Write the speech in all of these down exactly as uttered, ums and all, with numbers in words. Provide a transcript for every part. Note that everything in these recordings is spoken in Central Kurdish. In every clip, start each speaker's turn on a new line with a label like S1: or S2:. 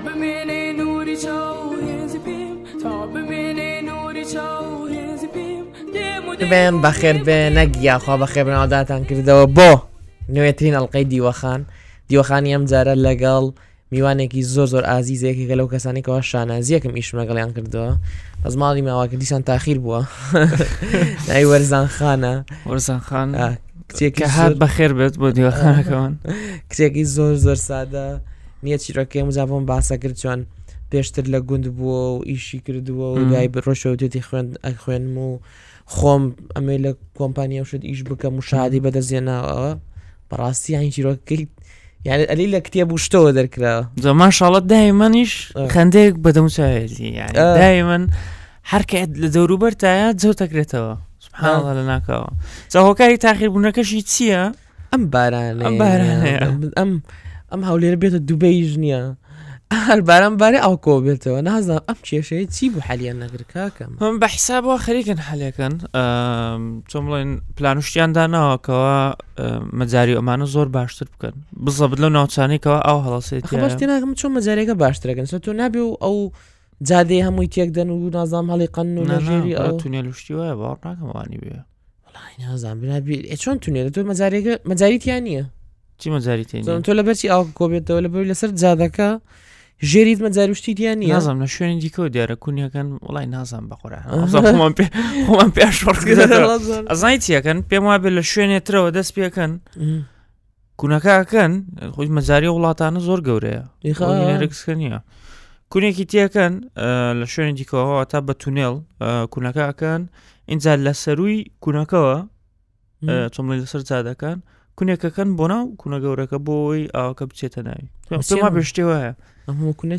S1: ببینی نوری چاو هزی پیم تا ببینی نوری چاو هزی پیم
S2: بێن بەخێر بێ نەگیا خوا بەخێر بناوداتان کردەوە بۆ نوێترین ئەڵلقەی دیوەخان دیوەخانی ئەم جارە لەگەڵ میوانێکی زۆر زۆر ئازیزەیەکی لەو کەسانێکەوە شانازیەکم ئیشم لەگەڵیان کردەوە بەس ماڵی ماواکە دیسان تاخیر بووە ناوی وەرزان خانە
S3: وەرزان خان
S2: کچێکی
S3: هات بەخێر بێت بۆ دیوەخانەکەوان
S2: کچێکی زۆر زۆر سادە نییە چیرۆکەی مزابۆم باسە کرد چۆن پێشتر لە گوند بووە و ئیشی کردووە و دوای ڕۆژەوتێتی خوێن ئەخوێنم و خۆم ئەمێ لە کۆمپانیا شت ئیش بکەم و شادی بەدەستێناوە بەڕاستی هاین چیرۆکەی یعنی ئەلی لە کتێب و شتەوە دەرکراوە
S3: زەمان شاڵەت دایمەنیش خەندەیەک بەدەموچایەتی یعنی دایمەن هەرکە لە دەوروبەرتایە جەوت دەکرێتەوە سبحانەڵڵا لە ناکەوە جا هۆکاری تاخیربوونەکەشی چییە؟
S2: ئەم بارانەیە
S3: ئەم بارانەیە
S2: ئەم ئەم هەولێرە بێتە دووبەیش نییە هەر باران بارێ ئاوکۆ بێتەوە نازانم ئەم کێشەیە چی بوو حەلیان نەگر کاکەم
S3: من بە حیسابەوە خەریکن حەلێکن چۆن بڵێن پلانوشتیان داناوەکەوە مەجاری ئەمانە زۆر باشتر بکەن بزەبت لەو ناوچانێکەوە ئاو هەڵەسێتی
S2: بەشتی ناکەم چۆن مەجارێکە باشترەکەن سە تۆ نابێ و ئەو جادەی هەمووی تێکدەن و نازام هەڵی قەن و لەژێری ئەو
S3: تونێلوشتی وایە باوەڕ ناکەمەوانی بێ
S2: وڵای نازانم بنابێ چۆن تونێرە تۆ مەجارێکە مەجاریتیان نییە
S3: چی مەجاری تێنی
S2: تۆ لەبەرچی ئاو کۆبێتەوە لەبەر لەسەر جادەکە ژێریت مەجاروشتیان نییە
S3: نازانم لە شوێنی دیکەوە دیارە کونیەکەن وڵای نازانم بەخۆران پێشڕ ئەزای چیەکەن پێم وابێ لە شوێنێترەوە دەست پێکەن کونەکەکەن خۆی مەجاری وڵاتانە زۆر گەورەیە ڕکسکە نییە کونێکی تێکەن لە شوێنی دیکەوە تا بە تونێڵ کونەکەکەن اینجا لە سەروی کونەکەەوە چۆمڵی لەسەر جادەکان کونێکەکەن بۆ ناو کونە گەورەکە بۆی ئاوەکە بچێتە ناوی پێما پێشتێ وایە
S2: ئەمە کونە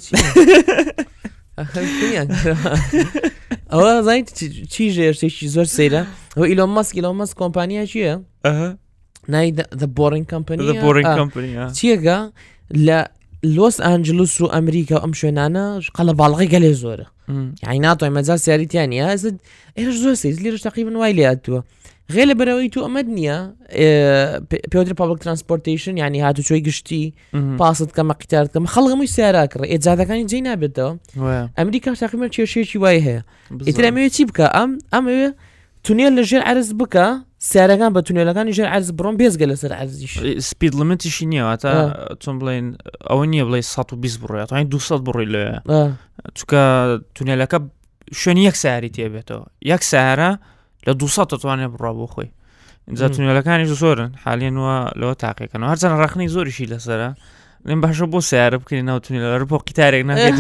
S2: ئەوە زای چی ژێرشتێکی زۆر سەیرە ئەوە ئیلۆن ماسک ئیلۆن ماسک کۆمپانیا چییە؟ نای The Boring Company چیەکە لە لۆس ئانجلوس و ئەمریکا ئەم شوێنانە قەڵە باڵغی گەلێ زۆرە یعنی ناتوانای مەجال سیاریتیانە ئێرە زۆر سەیز لێرەش تەقریبن وای لێ هاتووە غێر لە بەرەوەی تو ئەمەد نییە پێوتری پابلیک ترانسپۆرتیشن یعنی هاتوچۆی گشتی پاست کەمە قیتار کەمە خەڵگەمووی سیاراکڕ ئێجادەکانی جێی نابێتەوە ئەمریکا تقریبا کێشەیەکی وای هەیە ئیتر ئەمەوێ چی بکە ئەم ئەمەوێ تونێل لە ژێر عەرز بکە سیارەکان بە تونێلەکانی ژێر عەرز بڕۆن بێزگە لەسەر عەرزیش
S3: سپید لیمیتیشی نییە تا چۆن بڵێن ئەوە نییە بڵێ سەد و بیست بڕۆیە تا دووسەد بڕۆی لێ چونکە تونێلەکە شوێنی یەک سیاری تێبێتەوە یەک سیارە لە دووسەد دەتوانێت بڕوا بۆ خۆی اینجا تونێلەکانی زۆرن حالیان وە لەوە تاقیەکەنەوە هەرچەند ڕخنەی زۆریشی لەسەرە لێم باشە بۆ سیارە بکەین ناو تونێلە بۆ قیتارێک ناکرێت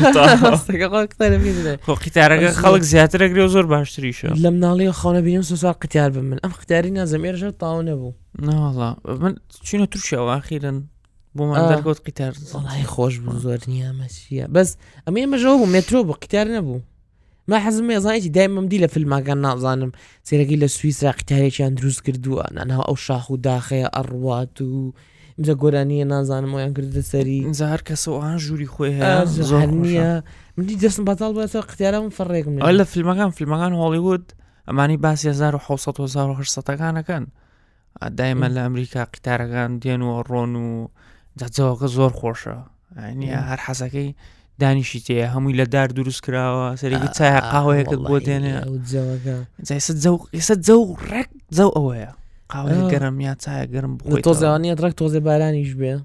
S3: قیتارەکە خەڵک زیاترەگرێ و زۆر باشتریشە
S2: لە مناڵی خاونە بینم سوسوار قیتار بم من ئەم قیتاری نازەمێرەژە تاو نەبوو
S3: ناوەڵا من چینە تووشەوە ئاخیرن بۆمان دەرگوت قیتار
S2: وڵای خۆش بوو زۆر نییە مەچیە بەس ئەمە ئێمەژەوە بوو مێترۆ بوو قیتار نەبوو ما حەزم ێزانێتی دایمەم دی لە فیلماکان نازانم سێرەگەی لە سویسرا قیتارێکیان دروست کردووە نانەوە ئەو شاخ و داخەیە ئەڕوات و اینجا گۆرانیە نازانم ئەویان کردە سەری
S3: اینجا هەر کەسەوە ئەوان ژووری خۆی هەیە
S2: زۆر نییە منی دەستم بەتاڵ بێتەوە قیتارەم فەڕێکم
S3: ئەو لە فیلمەکان فیلمەکان هۆلیوود ئەمانی باسی هەزار و حەوت سەد و هەزار و هەشت سەدەکانەکەن دایمە لە ئەمریکا قیتارەکان دێن و ڕۆن و جەوەکە زۆر خۆشە یعنی هەر حەزەکەی دانیشی تەیە هەمووی لە دار دروست کراوە سەرێکی چای قاوەیەکت بۆ دێنێ ئێستا جەو ڕێک جەو ئەوەیە قاوەیە گەرم یا چایە گەرم بخۆی
S2: تۆزەوانیە ڕێک تۆزێ بارانیش بێ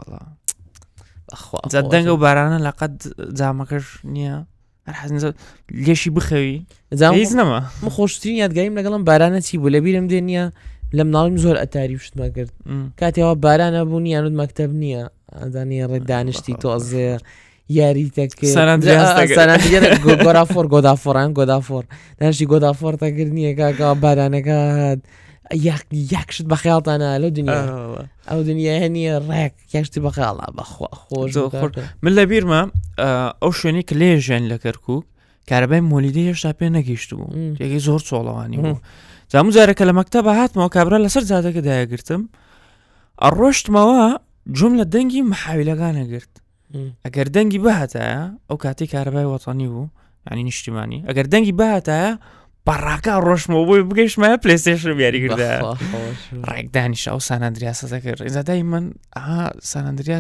S3: دەنگە و بارانە لەقەت جامەکەش نییە هەر حەزم لێشی بخەوی هیچ نەما
S2: من خۆشترین یادگاریم لەگەڵم بارانە چی بوو لە بیرم دێ نییە لە مناڵیم زۆر ئەتاری شتمە کرد کاتێەوە بارانە بوو یانود مەکتەب نییە ئەدانی ڕێ دانیشتی تۆزێ یاریتەکە گۆدافۆر گۆدافۆران گۆدافۆر دانیشتی گۆدافۆر تاکرد نییە کاکەوە بارانەکە یەکشت بە خەیاڵتانە لەو دنیا ئەو دنیا هەنیە ڕێک یەکشتی بە خەیاڵا بەخوا خۆش
S3: من لە بیرمە ئەو شوێنی کە لێ ژیان لە کەرکووک کارەبای مۆلیدی هێشتا پێ نەگەیشت بوو یەکی زۆر چۆڵەوانی بوو جامو جارێکە لە مەکتەبە هاتمەوە کابرا لەسەر جادەکە دایەگرتم ئەڕۆشتمەوە جوم لە دەنگی مەحاویلەکانە گرت ئەگەر دەنگی بەهاتایە ئەو کاتی کارەبای وەتانی بوو ینی نیشتیمانی ئەگەر دەنگی بەهاتایە بەڕاکە ڕۆشتمەوە بۆی بگەیشتمە پلەیستێشن بیاری کردە ڕێک دانیشە ئەو سان ئەندریاسە دەکرد ئێزادای من ئاها سان ئەندریاس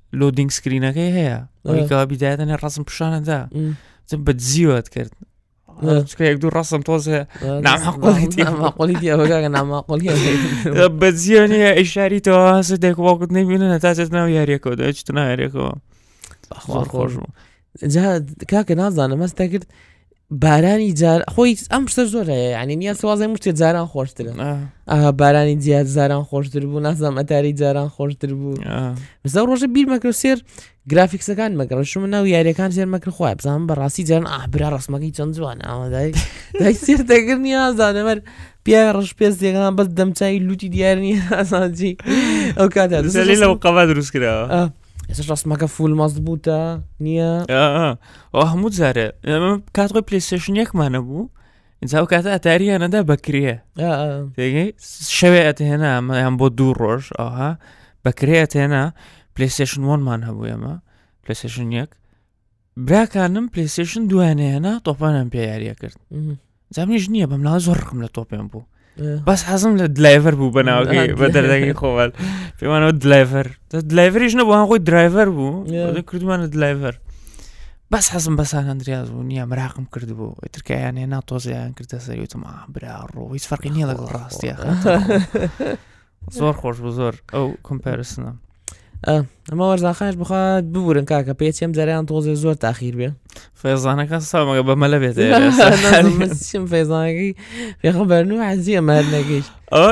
S3: لۆدینگ سکرینەکەی هەیە ئەویکەوە بیدایەتەنێ ڕەسم پیشانەدا بە دزیوەت کرد یەک دوو ڕەسم تۆزێ
S2: نامەقۆڵیتی ئەوەگە نامەقۆڵی
S3: بە جیۆنیە ئیشاریتەوە هەسە دێکواوکت نبینە تاچێت ناو یاریەکەەوە دەچتە ناو یاریەکەەوە خۆش بوو
S2: کاکە نازانم مەستە کرد بارانی جار خۆی ئەم شتە زۆرەیە ینی نییە سوازای مشتێت جاران خۆشترن بارانی جیات جاران خۆشتر بوو نازانم ئەتاری جاران خۆشتر بوو بەسە ڕۆژە بیر مەکرد سێر گرافیکسەکان مەکڕ شم ناو یاریەکان سێر مەکرد خۆی بزانم بەڕاستی جاران ئابرا ڕستمەکەی چەند جوان ئەوەدای دای سێر دەگرنی ئازانەمەر پیا ڕژ پێست دێکان بەس دەمچوی لوتی دیارنی ئاسانجی ئەو کاتە
S3: لەو قەبا دروست کراوە
S2: ئێستا ڕستمەکە فول مەست بووتە نییە
S3: ئەو هەموو جارە کات خۆی پلیستێشن یەکمانە بوو ئینجا کاتە ئەتاریانەدا بەکرێ شەوێ ئەتهێنا ئەمەیان بۆ دوو ڕۆژ ئەوها بەکرێ ئەتهێنا پلیستێشن وانمان هەبوو ئێمە پلیستێشن یەک براکانم پلیستێشن دوانەیەنا تۆپانم پێ یاریە کرد جامنیش نییە بەم ناوە زۆر ڕقم لە تۆپێن بوو بەس حەزم لە دلایڤەر بوو بەناوەکەی بە دەردەکەی خۆوەل پێوانەوە دلایڤەر دلایڤەریش نەبوو هەن خۆی درایڤەر بوو کردومانە دلایڤەر بەس حەزم بەسان هەندریاز بوو نییە مراقم کرد بوو ئیترکیان هێنا تۆزیان کردە سەری وتم برا ڕۆ هیچ فەرقی نییە لەگەڵ ڕاستیە زۆر خۆش بوو زۆر ئەو کۆمپارسنە
S2: ئەمە وەرزاخانش بخوات ببورن کاکە پێچێم جەریان تۆزێ زۆر تاخیر بێ
S3: فێزانەکە ساومەگە بەمەلە بێت
S2: فێزانەکەی پێخەبەرن و حەزیە مەرنەکەیش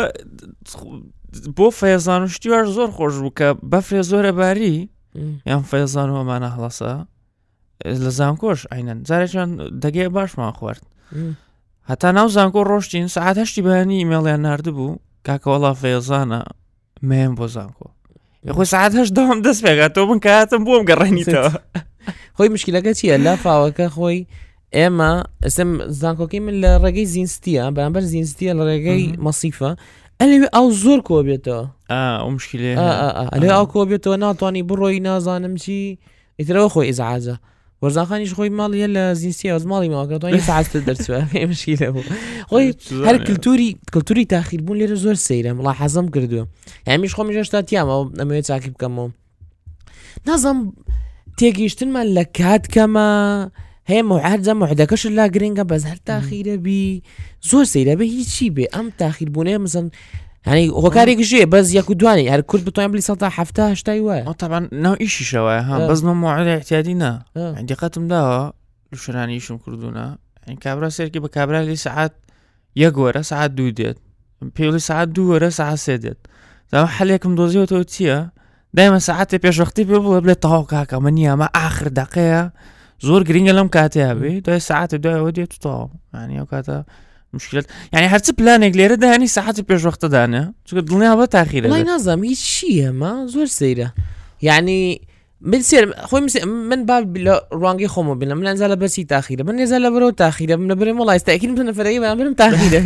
S3: بۆ فێزان و شتیواش زۆر خۆش بوو کە بەفرێ زۆرە باری یان فێزان و ئەمانە هەڵەسە لە زانکۆش ئاینەن جارێکیان دەگەی باشمان خوارد هەتا ناو زانکۆ ڕۆشتین سەعات هەشتی بەیانی ئیمێڵیان ناردبوو کاکە وەڵا فێزانە مێم بۆ زانکۆ خۆی ساعت هەشت دەوام دەست پێگاتەوە بن کاتم بۆم گەڕێنیتەوە
S2: خۆی مشکلەکە چییە لا فاوەکە خۆی ئێمە ئەسم زانکۆکەی من لە ڕێگەی زیینستیە بەرامبەر زیینستیە لە ڕێگەی مەسیفە ئەلێ ئەو زۆر کۆ بێتەوە
S3: ئەو مشکلێ
S2: ئەلێ ئەو کۆ بێتەوە ناتوانانی بڕۆی نازانم چی ئیترەوە خۆی ئیزعاجە وەرزاخانیش خۆی ماڵیە لە زیینستی ئەوز ماڵی ماوەکەتوانی ساعت دەرچوە مشکلە بوو خۆی هەر کللتوری کللتوری تاخیربوون لێرە زۆر سەیرە مڵا حەزم کردووە هەمیش خۆم ژێشتا تیامەوە ئەمەوێت چاکی بکەمەوە نازم تێگەیشتنمان لە کات کەمە هەیە موعدە موعدەکەش لا گرنگە بەس هەر تاخیرە بی زۆر سەیرە بێ هیچی بێ ئەم تاخیربوونەیە مەسەن ینی هۆکارێکیشێ بەس یەک و دوانی هەر کورد بتوانین بلی سەدا هەفتە هەشتای وایە
S3: طبعا ناو ئیشیشەوە ها بەس موعدە احتیاجی نا دقتم داوە لە شوێنانی ئیشم کردوونە کابرا سێرکی بە کابرالی سعات یەک وەرە سعات دوو دێت پێوەڵی سعات دوو وەرە سعات سێ دێت زاوە حەلێکم دۆزیەوەتەوە چییە دایمە سعاتێ پێشوەختی پێ بڵێ بڵێت تەواو کاکە ئەمە نییە ئەمە ئاخر دەقەیە زۆر گرنگە لەم کاتەیە بێ دوای سعاتە دوایەوە دێت و تەواو یعنی ئەو کاتە مشکلت یعنی هەرچی پلانێک لێرە دانی ساعتی پێشوەختەدانە چونکە دڵنیا بە تاخیرە
S2: وڵای نازانم هیچ چییە مە زۆر سەیرە یعنی من سێر خۆی من با لە ڕوانگەی خۆمە بینم من ئەنجا لە بەرچی تاخیرە من نێزا لە بەرەوە تاخیرە من لە بەرێم وڵای ئێستاکیدم تۆ نەفەرەکەی بەیان برم تاخیرە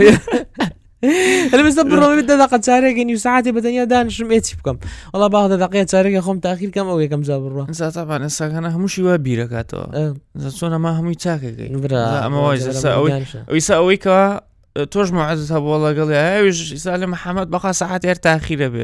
S2: هەلە بەستە بڕۆمە دە دەقە چارێکێنی و ساعتی بەتەنیا دانیشم ئێچی بکەم وڵا با دە دەقەیە چارێکە خۆم تاخیر کەم ئەو یەکەم جا بڕۆ
S3: ئەنجا تاپان ئێستاکانە هەمووشی وا بیرەکاتەوە چۆن ئەمە هەمووی چاکەکەی ئەمە ئەویسا ئەوەی کەوا تۆش موعدت هەبووە لەگەڵی ئەویش ئیسا لە محەممەد بەخوا ساعات هەر تاخیرە بێ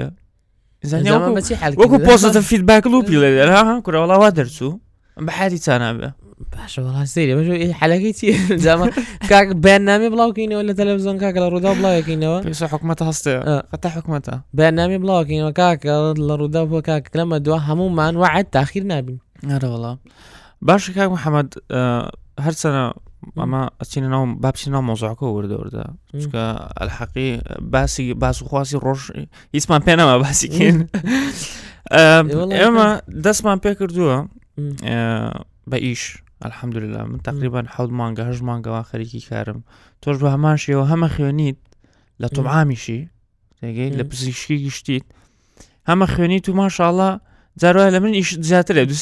S3: وەکو پۆستە فیدباک لوپی لە دێر ها کوڕەوەڵاوا دەرچوو بە حالی چانابێ
S2: باشە وڵا سەیرە بەش حەلەکەی چی جامە کاک بەیاننامێ بڵاوکەینەوە لە تەلەڤیزۆن کاکە لە ڕوودا بڵاوەکەینەوە
S3: پێویستە حکومەتە هەستەیە قەتە حکومەتە
S2: بەیاننامێ بڵاوەکەینەوە کاکە لە ڕوودا بۆ کاکە لەمە دووە هەموومان وعد تاخیر نابین
S3: ئەرە وەڵا باشە کاک محەممەد هەرچەنە ئەمە ئەچینە ناو بابچی ناو مۆزوعەکە وردەوردە چکە ئەلحەقی باسی باس و خواسی ڕۆژ هیچمان پێ نەما باسیکەین ئێمە دەستمان پێ کردووە بە ئیش الحەمدولله من تقریبا حەوت مانگە هەژ مانگەوە خەریکی کارم تۆش بە هەمان شێوە هەمە خوێنیت لە تۆمعامیشی تێگەی لە پزیشکی گشتیت هەمە خوێنیت و ماشاءڵڵا جاروای لە من ئیش زیاترە دووسێ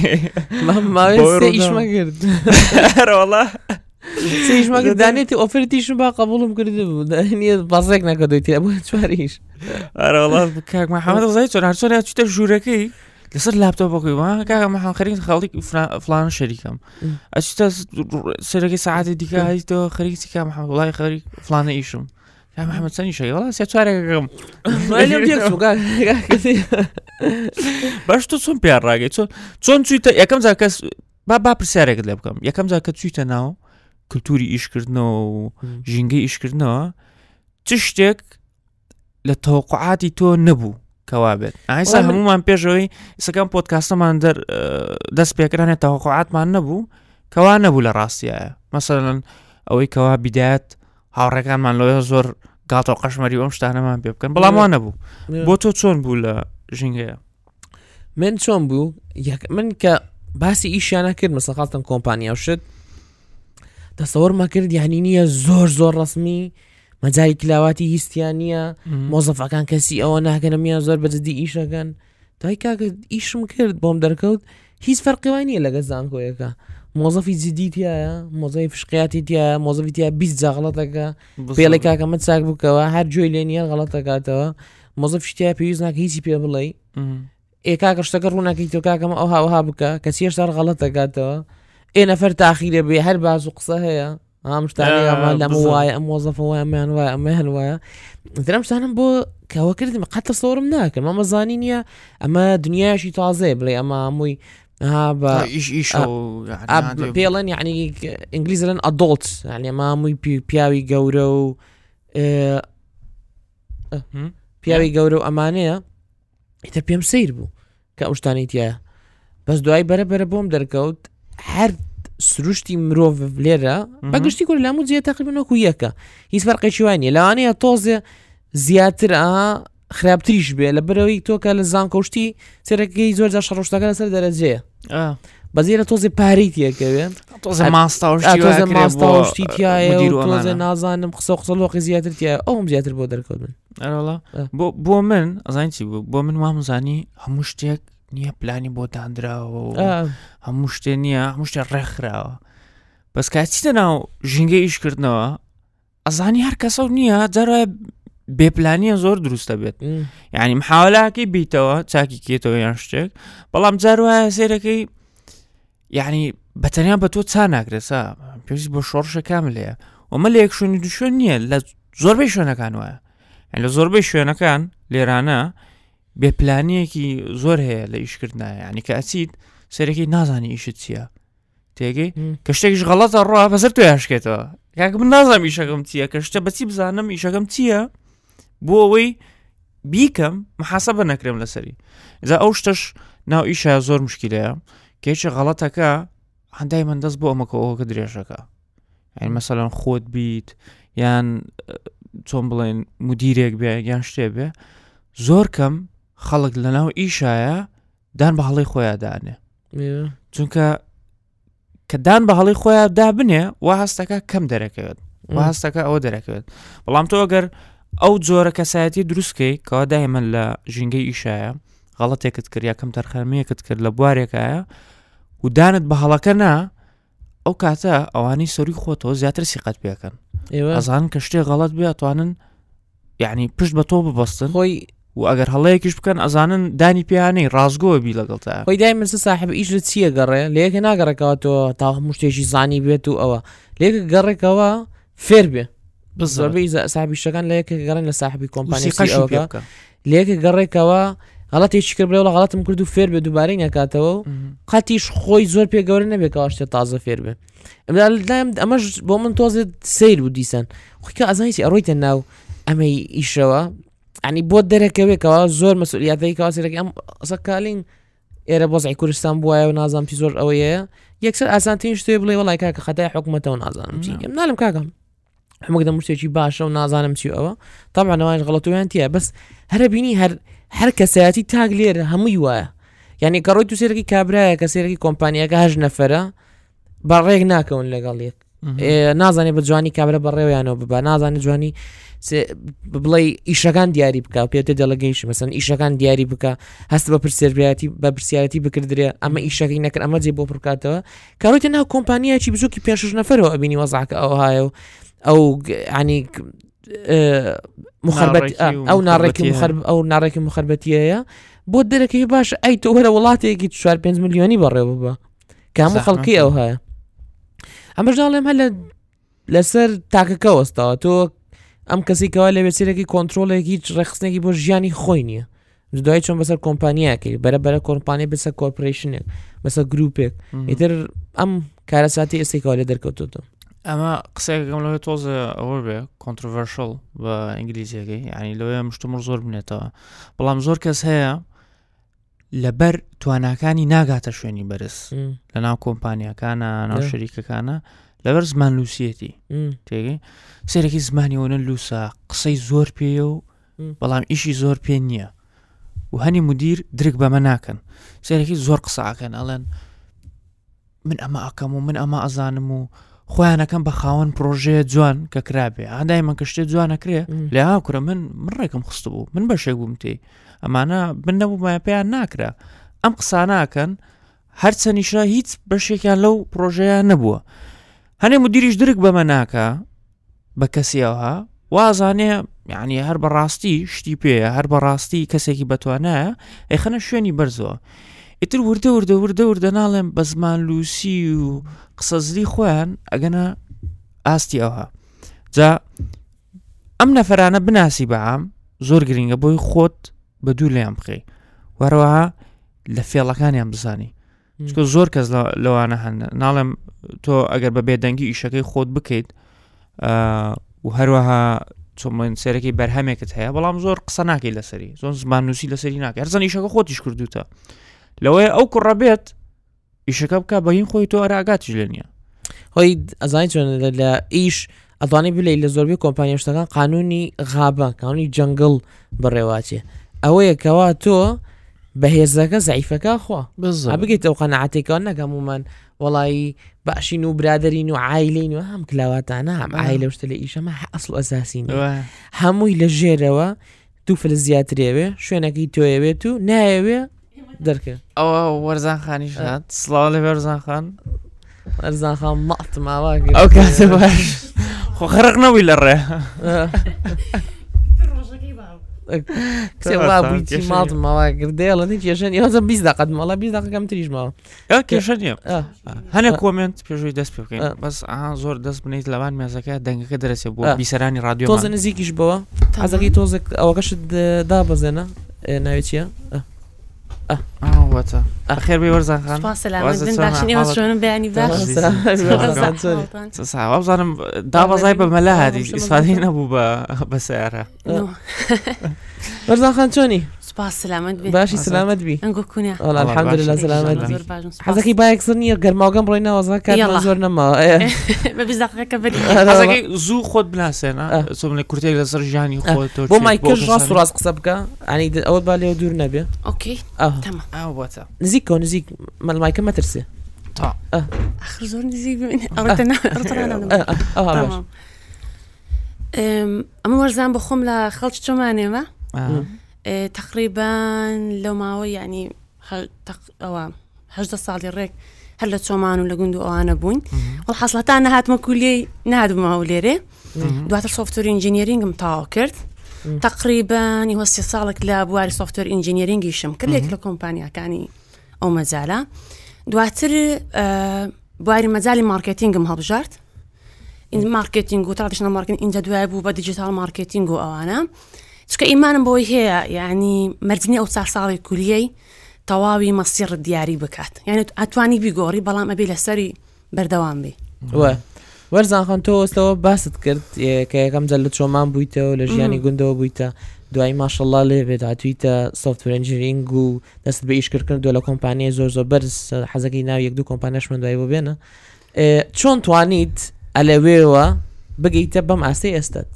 S2: ئیشمەگرد وڵا سیشمەگرد دانێتی ئۆفرتیشم با قبولم کرده بوو نیە بەزێک نەکەدۆیتی بوو چواریش
S3: ئەرەوەڵا کاک محەممەد زای چۆن هەر چۆن چتە ژوورەکەی لەسەر لاپتۆپەکەی وان کاکە محەممەد خەریک خەڵکی فلان شەریکەم ئەچتە سەرەکەی سەعاتی دیکە هەیتەوە خەریکی کا محەممەد وڵای خەریک فلانە ئیشم يا محمد سني شيء والله سيتوارق
S2: ما اليوم جيكسو قال كثير
S3: باش تصون بيار راجع تصون تصون تويت يا كم ذاك با با برسارك اللي بكم يا كم ذاك تويت ناو كلتوري إيش كردنا جينجي إيش كردنا تشتك للتوقعات تو نبو كوابد عايز هم ما بيجوي إذا كان بودكاست ما ندر دس بيكرهن التوقعات ما نبو كوا نبو لراسية مثلا أو كوا بدايات هاوركان من لو يزور قاطع قشمري ومشتهنا ما بيبكن بلا ما نبو بوتو تون بولا جينجا
S2: من تون بو من ك باسي إيش أنا كرد مثلا خاصة كومبانيا وشد تصور ما كرد يعني نية زور زور رسمي مجال كلاواتي هستيانية موظف كان كسي أو أنا كان مية زور بدي إيش كان تاي كا إيش مكرد بوم دركود هيز فرق ويني لا جزان كويكا موظف جديد يا موظف شقياتي يا موظف يا بيز غلطك بيلك كم تساق بك واحد جويلينيا غلطك توا موظف شتيا بيوزنك هيسي بيبلي إيه كاك اشتكرونا كيتو كاك ما أوها أوها بك كثير صار غلطك توا إيه نفر تأخير بحر بعض قصة هي ها مش تاني ما لا موايا موظف هوايا ما هوايا ما هوايا مثلا مش تاني بو كواكرد ما قد تصور مناك ما مزانينيا أما دنيا شيء تعذب لي أما موي ها با
S3: إيش إيش هو
S2: يعني بيلن يعني إنجليزي لن adults يعني ما موي بي بياوي جورو اه بياوي جورو أمانية إذا بيم سير بو كأوش تاني تيا بس دعاي برا برا بوم دركوت حرد سروشتي مروف بليرة بقشتي كل لامود زي تقريبا وكوياكا هيس فرق شواني لو أنا توزع زياتر آه خرابتريش بيه لبروي توكا لزان كوشتي سيركي زور زار شروشتا كلا سر درجة
S3: اه
S2: بزيرة توزع باريتيا كمان
S3: توزع ماستا وشتي
S2: توزع ماستا وشتي تيا توزع نازان مخصوص خصوص الوقت زياتر تيا أو مزياتر بودر كودن
S3: أه والله بو بو من أزاينتي بو من ما مزاني همشتك نيا بلاني بوداندرا و همشتي نيا همشتي رخرا بس كاتينا جينجي إيش كردنا أزاني هر كسر نيا جرا ببلانية زور درست بيت يعني محاولة كي بيتوا تاكي كيتو ينشتك بلام جروا سيركي يعني بتنيا بتو تسانك رسا بيجي بشورش كاملة وما ليك شو ندشون نيا لا زور بيشونا كانوا يعني زور بيشونا كان ليرانا ببلانية كي زور هي لإيش كردنا يعني كأسيد سيركي نازاني إيش تسيا تيجي كشتكش غلط الرا فسرتو ياشكتوا كاك من نازم إيش أقوم تسيا كشتا بتسيب زانم إيش أقوم تسيا بووي بيكم محاسبة نكرم لسري إذا أوشتش ناو إيشا زور مشكلة كيش غلطك عن دايما داس بو أمك أو كدريشك يعني مثلا خود بيت يعني تومبلين مديرك بيا يعني شتبه زور كم خلق لناو إيشايا دان بحالي خويا دانه چونك كدان بحالي خويا دا بني وهستك كم دركت وهستك أو دركت بلام تو أجر أو زور كساتي دروسكي كوا دائما لا جينجي إيشايا غلطي كتكر يا كم ترخمية كتكر لبواريك آيا ودانت بحالكنا أو كاتا أواني سوري خوتو زياتر سيقات بيكن أظن كشتي غلط بيا طوانن يعني بيش بطوب ببسطن
S2: خوي
S3: وأجر هلايكش بكن أظن داني بياني رازقو بيلا قلتها
S2: خوي دائما صاحب إيش رتسيه قرر ليك ناقرة كواتو تاو مشتيشي زاني بيتو أوا ليك قرر كوا فيربي بالضبط إذا صاحب الشغل ليك قرن لصاحب كومباني سي أو كا ليك قرر كوا غلط يشكر بلا ولا غلط ممكن فير بدوبارين يا كاتو قاتيش خوي زور بي قورنا بكاش تازه فير به لا امش بومن توزد سير وديسان خوك ازايتي ارويت انه اما يشوا يعني بود دركه كوا زور مسؤوليات ذيك اسرك ام سكالين ايره بوزعي كورستان بوايا ونازم في زور اويه يكسر اسانتين شتبلي والله كاك خداي حكمته ونازم شي منالم كاكم حمق مش شي باشا ونازم شي او طبعا واش غلطوا انت بس هربيني هر حركة سياتي تاغلير هميوا يعني كرويتو سيركي كابرا كسيركي كومبانيا كهج نفرة بريق ناكون لقاليك إيه نازاني بجواني كابرا بريو يعني ببا نازاني جواني ببلاي إيشاكان دياري بكا بيوتي ديليجيشن مثلا إيشاكان دياري بكا هست ببرسيربياتي ببرسيارتي بكردريا أما إيشاكي نكر أما زي بو بركاتوا كرويتو إنها كومبانيا شي بزوكي بيانشوش نفرة أبيني وضعك أو هايو أو يعني أه مخربت آه أو نارك مخرب أو نارك مخربتية بود لك هي باش أي توهلا والله تيجي تشوار بينز مليوني برا بابا كامو خلقي أو هاي أما جالهم هلا لسر تاك كوستا تو ئەم کەسی کەوا لە بێسیرێکی کۆنتترۆلێکی ڕێخستنێکی بۆ ژیانی خۆی نییە دوای چۆن بەسەر کۆمپانیاکەی بەرە بەرە کۆمپانیای بەسەر کۆرپۆریشنێک بەسەر گروپێک ئیتر ئەم کارەساتی ئێستێکەوە لێ دەرکەوتوتە
S3: ئەمە قسەیەکەم لەوێ تۆزە ئەوە بێ کۆنترڤەرشڵ بە ئینگلیزیەکەی ینی لەوێ مشتمر زۆر بنێتەوە بەڵام زۆر کەس هەیە لەبەر تواناکانی ناگاتە شوێنی بەرز لە ناو کۆمپانیەکانە ناو شەریکەکانە لەبەر زمان لووسەتی تێگەی سێرەکی زمانیەوەنە لووسە قسەی زۆر پێە و بەڵام ئیشی زۆر پێ نییە و هەنی مدیر درک بەمە ناکەن سێرەکی زۆر قسەکەن ئەڵێن من ئەمە ئەکەم و من ئەمە ئەزانم و خۆیانەکەم بە خاوەن پرۆژەیە جوان کە کرابێ ئادای من کە شتێ جوانەکرێ لە هاوکرە من من ڕێکم خست بوو من بەشێک بووم تێ ئەمانە من نەبوومە پێیان ناکرا ئەم قساناکەن هەرچەنیشە هیچ بەشێکیان لەو پرۆژەیە نەبووە هەنێ مدیریش درک بەمە ناکە بە کەسیەوەها وازانێ یعنی هەر بەڕاستی شتی پێە هەر بەڕاستی کەسێکی بەتوانایە ئەیخەنە شوێنی بەرزەوە ئیتر وردە وردە وردە وردە ناڵێم بە زمان لووسی و قسەزلی خۆیان ئەگەنە ئاستی ئەوها جا ئەم نەفەرانە بناسی بەعام زۆر گرنگە بۆی خۆت بە دوو لێیان بخەی وەروەها لە فێڵەکانیان بزانی چکە زۆر کەس لەوانە هەن ناڵێم تۆ ئەگەر بە بێدەنگی ئیشەکەی خۆت بکەیت و هەروەها چۆن سێرەکەی بەرهەمێکت هەیە بەڵام زۆر قسە ناکەی لەسەری زۆر زمان نووسی لەسەری ناکە هەرزان ئیشەکە خۆتیش کردوتە لەوەی ئەو کوڕەبێت ئیشەکە بکە بەهین خۆی تۆ ئەراگاتیش لە نییە
S2: هۆی ئەزانی چۆن لە ئیش ئەتوانی بلەی لە زۆربەی کۆمپانیا شتەکان قانونی غابە قانونی جەنگڵ بڕێواچێ ئەوەیە کەوا تۆ بەهێزەکە زعیفەکە خوا بگەیت ئەو قەنەعەتێکەوە نەکەم ومان وەڵی باشین و برادرین و عایلین و هەم کلاواتانە هەم عایلە شتە لە ئیشەمە ئەسڵ ئەساسین هەمووی لە ژێرەوە دوو فلس زیاترێوێ شوێنەکەی تۆیەوێت و نایەوێ دەرکە
S3: ئەوە وەرزان خانیش هات سڵاو لە وەرزان خان
S2: وەرزان خان مەڵت ماوا
S3: ئەو کاتە باش خۆ خەرق نەبووی لە ڕێ
S2: کتێوا بوویتی ماڵتم ماوا گردێڵە کێشەن ئێوەزە بیست دقەت ماڵە بیست دقەکەم تریش ماوە
S3: کێشە نییە هەنێ کۆمنت پێشوی دەست پێ بکەین بەس ئا زۆر دەست بنیت لەوان مێزەکە دەنگەکە دەرەچێت بۆ بیسەرانی رادیۆ
S2: تۆزە نزیکیش بەوە حەزەکەی تۆزێک ئەوەکەشت دابەزێنە ناوێت چییە
S3: واتە ئەخێر بێ وەرزان خان
S4: باشنێوەشۆنم بەیانی
S3: باشزانم دابەزای بە مەلا هادی ئیسفادەی نەبوو بە سیارە
S2: وەرزان خان چۆنی
S4: سپاس سلامت بێ
S2: باشی سلامت بی
S4: ئەنگۆکوونە
S2: الحەمدولله سلامت بی حەزەکەی بایەکسر نییە گەرماوگەم ڕۆی ناوەزان کار زۆر نەماوە
S4: بە بیست دقەکە بەری
S3: حەزەکەی زوو خۆت بناسێنە چۆن لە کورتێک لەسەر ژیانی خۆت
S2: بۆ مایکل ڕاست و ڕاست قسە بکە ئەنی ئەوت با لێوە دوور نەبێ
S4: ئۆکەی
S3: واتە
S2: نزیک کەو نزیک مایکە مەترسێ
S4: آخر زۆر نزیک ئەمە وەرزان بە خۆم لە خەڵکی چۆمانێمە تقریبان لەو ماوە یعنی ئەوە هەژدە ساڵی ڕێک هەر لە چۆمان و لە گوند و ئەوانە بووین وەڵ حەسڵەتان نەهاتمە کولیەی نادمەوە لێرێ دواتر سۆفتوەر ئینجینیرینگم تاوا کرد تقریبان هیوە سێ ساڵێک لە بواری سۆفتوەر ئینجینیرینگیشم کرد لێک لە کۆمپانیاکانی ئەو مەجالە دواتر بواری مەجای مارکتینگم هەڵبژارد این مارکتینگ و ترادیشنال مارکتینگ اینجا دوای بوو بە دیجیتال مارکتینگ و ئەوانە چکە ئیمانم بۆی هەیە یعنی مەرجنی ئەو چار ساڵی کولیەی تەواوی مەسیڕ دیاری بکات یعنی ئەتوانی بیگۆڕی بەڵام ئەبێ لەسەری بەردەوام بێ
S2: وەرزان خان تۆ ئێستەوە باست کرد کە یەکەم جەل لە چۆمان بوویتەوە لە ژیانی گوندەوە بوویتە دوای ماشەڵڵا لێبێت هاتوویتە سۆفتوەر ئینجینیرینگ و دەست بە ئیشکردن دو لە کۆمپانیای زۆر زۆر بەرز حەزەکەی ناو یەک دوو کۆمپانیاشمان دوای بۆ بێنە چۆن توانیت ئەلەوێەوە بگەیتە بەم ئاستی ئێستت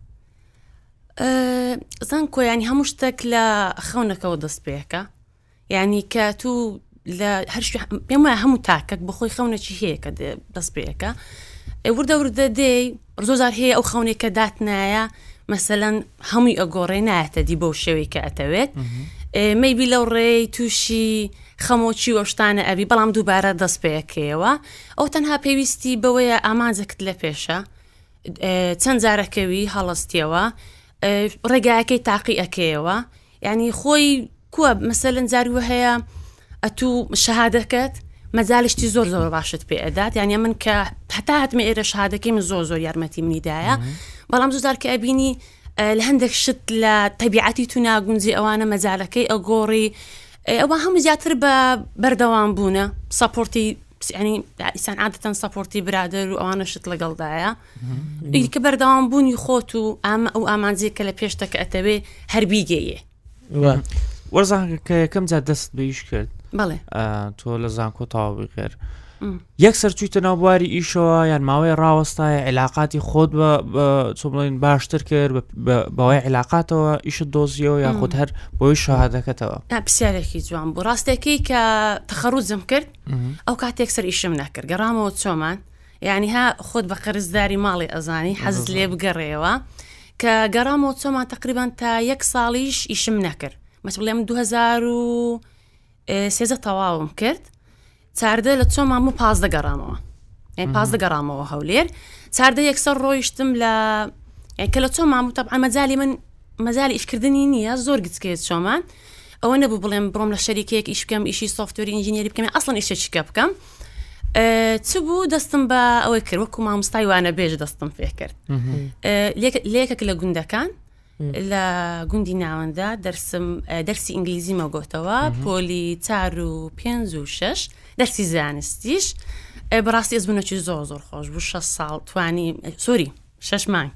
S4: زان کۆیانی هەموو شتێک لە خەونەکەەوە دەست پێەکە یعنی کە تو لە هەر پێم وایە هەموو تاکەک بەخۆی خەونەکی هەیە کە دەست پێەکە وردە وردە دێی زۆزار هەیە ئەو خەونێکە داتنایە مەسەلەن هەمووی ئەگۆڕێ نایەتە دی بەو شێوەی کە ئەتەوێت مەیبی لەو ڕێی تووشی خەمۆکی وەشتانە ئەبی بەڵام دووبارە دەست پێەکەیەوە ئەو تەنها پێویستی بەوەیە ئامانجەکت لە پێشە چەند جارەکەوی هەڵستیەوە ڕێگایەکەی تاقی ئەکەیەوە یعنی خۆی کووە مەسەلەن جاریوە هەیە ئەتوو شەهادەکەت مەجالیشتی زۆر زۆر باشت پێ ئەدات یعنی من کە هەتا هاتمە ئێرە شهادەکەی من زۆر زۆر یارمەتی منیدایە بەڵام زۆر کە ئەبینی لە هەندێک شت لە تەبیعەتی تو ناگونجی ئەوانە مەجالەکەی ئەگۆڕی ئەوە هەموو زیاتر بە بەردەوام بوونە سەپۆرتی ینی ئیسان عادەتەن سەپۆرتی برادر و ئەوانە شت لەگەڵدایە کە بەردەوام بوونی خۆت و ئەمە ئەو ئامانجی کە لە پێشتەکە ئەتەوێ هەربیگەیە
S3: وەرزان کە یەکەم جا دەست بەیش کرد
S4: بەڵێ
S3: تۆ لە زانکۆ تاوابی کرد یەکسەر چوویتە ناو بواری ئیشەوە یان ماوەی ڕاوەستایە علااقاتی خۆت بە چۆ بڵێن باشتر کرد بەوەی علااقاتەوە ئیشت دۆزیەوە یا خۆت هەر بۆی شەهادەکەتەوە
S4: پرسیارێکی جوان بوو ڕاستێکی کە تەخەڕوجم کرد ئەو کاتێک سەر ئیشم نەکرد گەڕامەوە چۆمان یعنی ها خۆت بە قەرزداری ماڵی ئەزانی حەزت لێ بگەڕێەوە کە گەڕامەوە چۆمان تقریبان تا یەک ساڵیش ئیشم نەکرد مەس بڵێ من دوو هەزار و سێزە تەواوم کرد چاردە لە چۆمان و پازدە گەڕامەوە یعنی پازدە گەڕامەوە هەولێر چاردە یەکسەر ڕۆیشتم لە کە لە چۆمان و تەبعا مەجالی من مەجای ئیشکردنی نییە زۆر گچکێت چۆمان ئەوە نەبوو بڵێم بڕۆم لە شەریکێک ئیش بکەم ئیشی سۆفتوەری ئینژینێری بکەم ئەسڵەن ئیشێکە بکەم چ بوو دەستم بە ئەوەی کرد وەکو مامۆستای وانە بێژ دەستم پێ کرد لێکێک لە گوندەکان لە گوندی ناوەندا دەرسم دەرسی ئینگلیزی مەگۆتەوە پۆلی چار و پێنج و شەش دەرسی زانستیش بەڕاستی ئەزبوونەکی زۆر زۆر خۆش بوو شەش ساڵ توانی سۆری شەش مانگ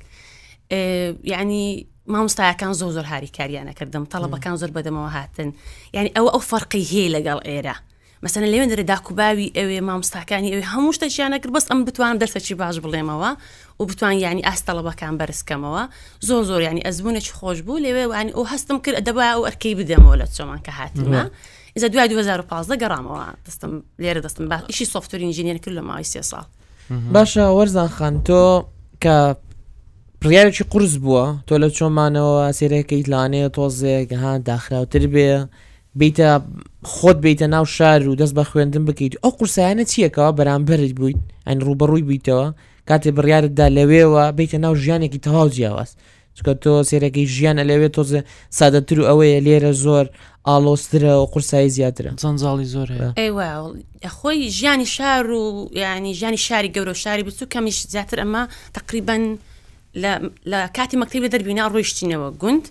S4: یعنی مامۆستایەکان زۆر زۆر هاریکاریانە کردم تەڵەبەکان زۆر بەدەمەوە هاتن یعنی ئەوە ئەو فەرقی هەیە لەگەڵ ئێرە مەسەن لەوێن دەرێ داکوباوی ئەوێ مامۆستاکانی ئەوێ هەموو شتێکیانە کرد بەس ئەم بتوانم دەرسێکی باش بڵێمەوە و بتوان یعنی ئاست تەڵەبەکان بەرزکەمەوە زۆر زۆر یعنی ئەزبوونێکی خۆش بوو لێوێ ینی ئەو هەستم کرد دەبا ئەو ئەرکەی بدەمەوە لە چۆمان کە هاتیمە ئیزە دوای دوو هەزار و پازدە گەڕامەوە دەستم لێرە دەستم با ئیشی سۆفتوەری ئینژینێر کرد لە ماوەی سێ ساڵ
S2: باشە وەرزان خان تۆ کە پڕیارێکی قورس بووە تۆ لە چۆمانەوە سێرەکەیت لانەیە تۆزێک ها داخراوتر بێ بیتە خۆت بیتە ناو شار و دەست بە خوێندن بکەیت ئەو قورسایانە چیەکەوە بەرامبەرت بوویت ئەین ڕوبەڕووی بیتەوە کاتێ بڕیارتدا لەوێەوە بیتە ناو ژیانێکی تەواو جیاواز چکە تۆ سێرەکەی ژیانە لەوێ تۆزە سادەتر و ئەوەیە لێرە زۆر ئالۆسترە و قورسایی زیاترە
S3: جەنجاڵی زۆر هەیە
S4: ئەیوە خۆی ژیانی شار و ینی ژیانی شاری گەورە شاری بچوو کەمیش زیاتر ئەمە تقریبەن لە کاتی مەکتەبی دەربینا ڕۆیشتینەوە گوند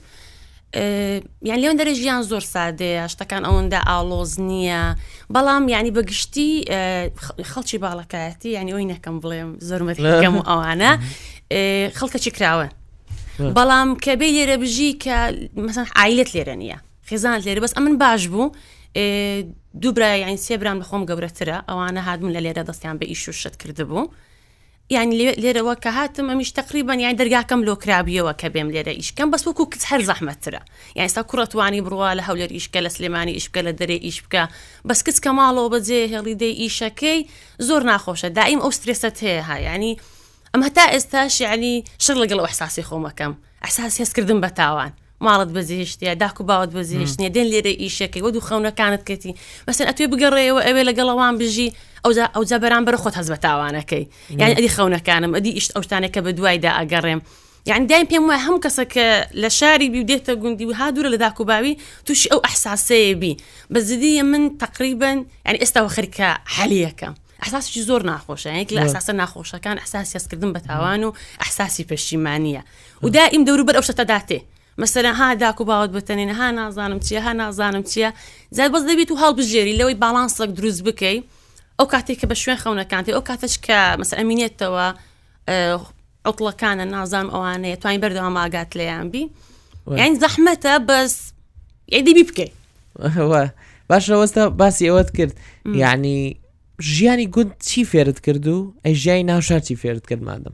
S4: یان لێون دەرە ژیان زۆر سادەیە شتەکان ئەوەندا ئالۆز نییە بەڵام یعنی بەگشتی خەڵکی باڵەکایەتی یعنی ئەوی نەکەم بڵێم زۆرمەکەم و ئەوانە خەڵکەکی کراون بەڵام کە بێ لێرە بژی کە مەسەن عایلەت لێرە نییە خێزانت لێرە بەس ئەمن باش بوو دوو برا یعنی سێ برام لە خۆم گەورەترە ئەوانە هاتبوون لە لێرە دەستیان بە ئیش و شت کردبوو یعنی لێرەوە کە هاتم ئەمیش تقریبان یان دەرگاکەم لۆ کرابیەوە کە بێم لێرە ئیشکەم بەس وەکو کچ هەر زەحمەتترە یعنی ستا کوڕەتوانی بڕوا لە هەولێر ئیشکە لە سلێمانی ئیش بکە لە دەرێ ئیش بکە بەس کچ کە ماڵەوە بەجێ هێڵی دەی ئیشەکەی زۆر ناخۆشە دائیم ئەو سترێسەت هەیە ها یعنی ئەم هەتا ئێستاش یعنی شڕ لەگەڵ ئەو ئەحساسی خۆمەکەم ئەحساسی هەستکردن بە تاوان ماڵت بەزیشتە داک و باوت بەزیشتنیە دێن لێرە ئیشەکەی وە دوو خەونەکانت کەتی مەسەن ئەتوێ بگەڕێەوە ئەوێ لەگەڵەوان بژی ئەو جا بەرامبەر خۆت هەز بە تاوانەکەی یعنی ئەدی خەونەکانم ئەدی ئیشت ئەو شتانێکە بە دوایدا ئەگەڕێم یعنی دایم پێم وایە هەموو کەسە کە لە شاری بی و دێتە گوندی و ها دوورە لە داک و باوی تووشی ئەو ئەحساسەیە بی بە زیدیە من تقریبا یعنی ئێستاوە خەریکە حەلیەکەم ئەحساسێکی زۆر ناخۆشە یەک لە ئەحساسە ناخۆشەکان ئەحساسی هەستکردن بە تاوان و ئەحساسی پەشیمانیە و دائیم دەوروبەر ئەو شتە داتێ مثلا ها داک و باوت بتەنێن ها نازانم چیە ها نازانم چییە زاد بەس دەبێت و هەڵبژێری لەوەی باڵانسێک دروست بکەی ئەو کاتێک کە بە شوێن خەونەکانتی ئەو کاتەش کە مەسەن ئەمینێتەوە عوتڵەکانە نازانم ئەوانەیە توانین بەردەوام ئاگات لێیان بی یعنی زەحمەتە بەس یعنی بی بکەی
S2: باشە وەستا باسی ئەوەت کرد یعنی ژیانی گوند چی فێرت کرد و ئەی ژیانی ناوشار چی فێرت کرد مادەم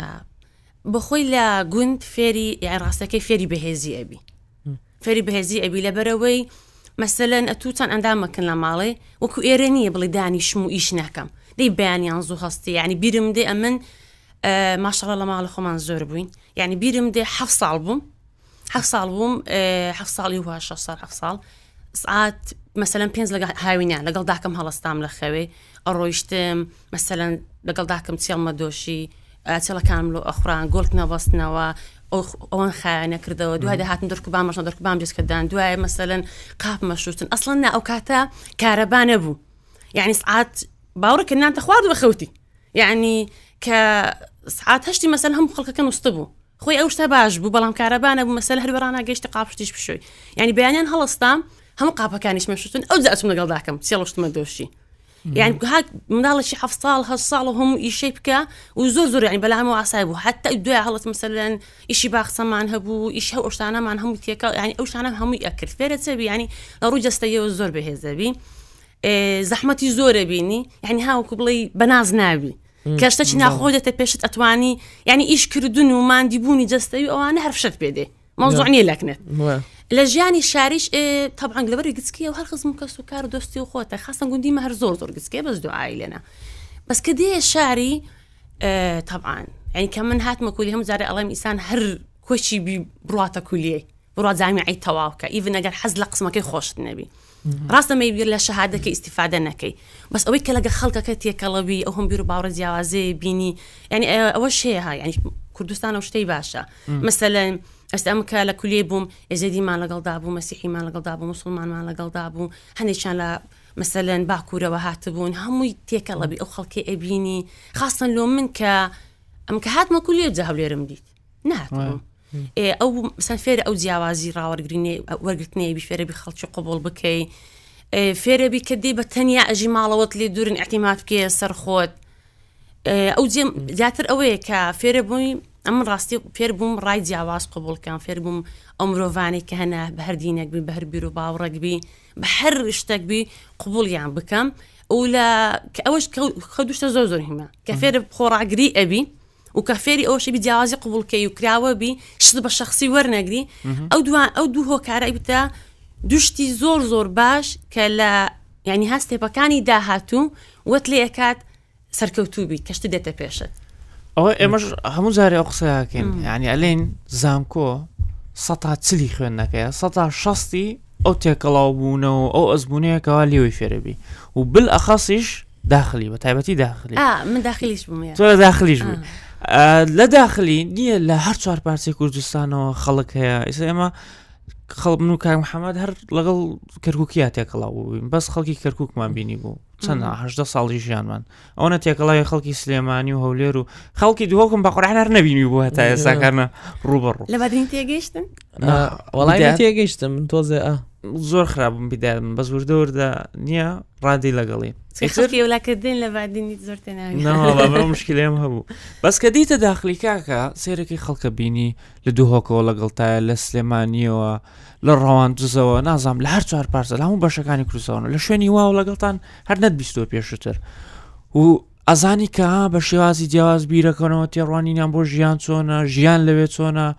S4: بخۆی لە گوند فێری یان ڕاستەکەی فێری بەهێزی ئەبی فێری بەهێزی ئەبی لەبەرەوەی مەسەلەن ئەتوتان ئەندامەکەن لە ماڵێ وەکو ئێرە نییە بڵێ دانیشم و ئیش ناکەم دەی بەیانیان زوو هەستی یعنی بیرم دێ ئەمن ماشەڵڵا لە ماڵە خۆمان زۆر بووین یعنی بیرم دێ حەفت ساڵ بووم حەفت ساڵ بووم حەفت ساڵی وها شەش ساڵ حەفت ساڵ سعات مەسەلەن پێنج لەگەڵ هاوینیان لەگەڵ داکەم هەڵەستام لە خەوێ ئەڕۆیشتم مەسەلەن لەگەڵ داکەم چێڵمە دۆشی چێڵەکانم لۆ ئەخوران گۆڵک نەبەستنەوە ئەوان خایانە کردەوە دوای داهاتم دەرکوبان مەشە دەرکوبان بێسکەدان دوای مەسەلەن قاپ مەشوتن ئەسڵەن نا ئەو کاتە کارەبا نەبوو یعنی سعات باوڕێکە نانتە خوارد بە خەوتی يعني كساعات هشتي مثلا هم خلق كانوا استبوا خوي أوش تباج بو بلام كهربانا بمثلا هربرانا جيش تقابشتيش بشوي يعني بيانين هلستام هم قابا كانش مشوتون أو زقتهم نقل ذاكم سيلوش تمدوشي يعني هاك من هذا الشيء حفصال هالصال وهم يشيبكا وزور زور يعني بلا هم وعصايبه حتى الدواء هلت مثلا إشي باخصا معن هبو إشي هو أوشتانا معن هم يتيكا يعني أوشتانا هم يأكل فيرت سبي يعني لروج استيو الزور بهذا إيه زحمتي زور بيني يعني هاو قبلي بناز نابي كاشتش ناخذ تبيشت أتواني يعني إيش كردون وما عندي بوني جستيو أو أنا عرفت بيدي موضوعني لكنت لجاني الشاريش إيه طبعا قلبري قدسكيه وهالخصم كسكر دوستي وخوته خاصة قندي مهر زور زور قدسكيه بس دعائي لنا بس كديه الشعري إيه طبعا يعني كمان هات ما كلهم زاري الله إنسان هر كوشي ببرواته كليه برات زعمي عيد تواوكا إيفن أجر حز لقص ما كي خوش النبي راسنا ما يبير له شهادة كي استفادة نكي بس أويك لقى خلقة كتير كلبي أو هم بيرو باور زيازي بيني يعني أول شيء ها يعني كردستان أو شتي باشا مثلا أستأمك لكل بوم يزيدي ما لقل دابو مسيحي ما لقل دابو مسلمان ما لقل دابو هنيشان لا مثلا باكورة وهاتبون هم يتيك الله بي أو خلقي أبيني خاصة لو منك أمك هات ما كل يجهب لي رمديت نهاتبون أو مثلا فير أو زياوازي راور جريني ورقتني بفير بخلش قبول بكي فير بكدي بتنيا أجي معلوات لي دور اعتماد بكي سرخوت أو زي جاتر أوي كفير بوي أما راستي فير بوم رايد زياواز قبول كان فير بوم أمرو فاني كهنا بهر دينك بي بهر بيرو باورك بي بحر اشتاق بي قبول يعني بكم ولا كأوش خدوش تزوزر هما كفير بخورا قري أبي وكفيري أو شيء بديازي قبول كي وكراوة بي شد بالشخصي ورنقري أو دو أو دو هو كعرق بتا دوشتي زور زور باش كلا يعني هاستي بكاني داهاتو وتلي أكاد سركوتو بي كشتي دتا بيشت
S3: أو إمش همو زاري أقصى لكن يعني ألين زامكو سطع تسلي خونك سطع شخصي أو تكلاوبونه أو أزبونيه كوالي ويفربي وبالأخصش داخلي بتعبتي داخلي
S4: آه من داخليش بمية
S3: تو داخليش بمية آه لا داخلي نية لا هر صار بارسي كردستان وخلق هي إسمه خلق منو كان محمد هر لقل كركوكيات يكلاو بس خلقي كركوك ما بيني بو سنة هجدة صالي جيان من أنا تيكلاو خلقي سليماني وهوليرو خلقي دوكم بقرعنا رنبيني بو هتا ساكرنا روبرو
S4: لبعدين تيجيشتن
S2: والله ما تيجيشتن من توزي آه
S3: زور خراب بداية بس وردور ده نية رادي لقلي
S4: خلقي ولا كدين لبعدين يتزورتنا
S3: لا والله ما مشكلة يا مهبو بس كديت داخلي كاكا سيركي خلق بيني لدوهوك ولا قلتها لسليماني و للروان جزوا نظام لهر صار بارسل هم باشكاني كروسون لشوني وا ولا قلتان هر ند بيستو بيشتر و ازاني كا بشوازي جواز بيركنو تيرواني نامبو جيان سونا جيان لويت سونا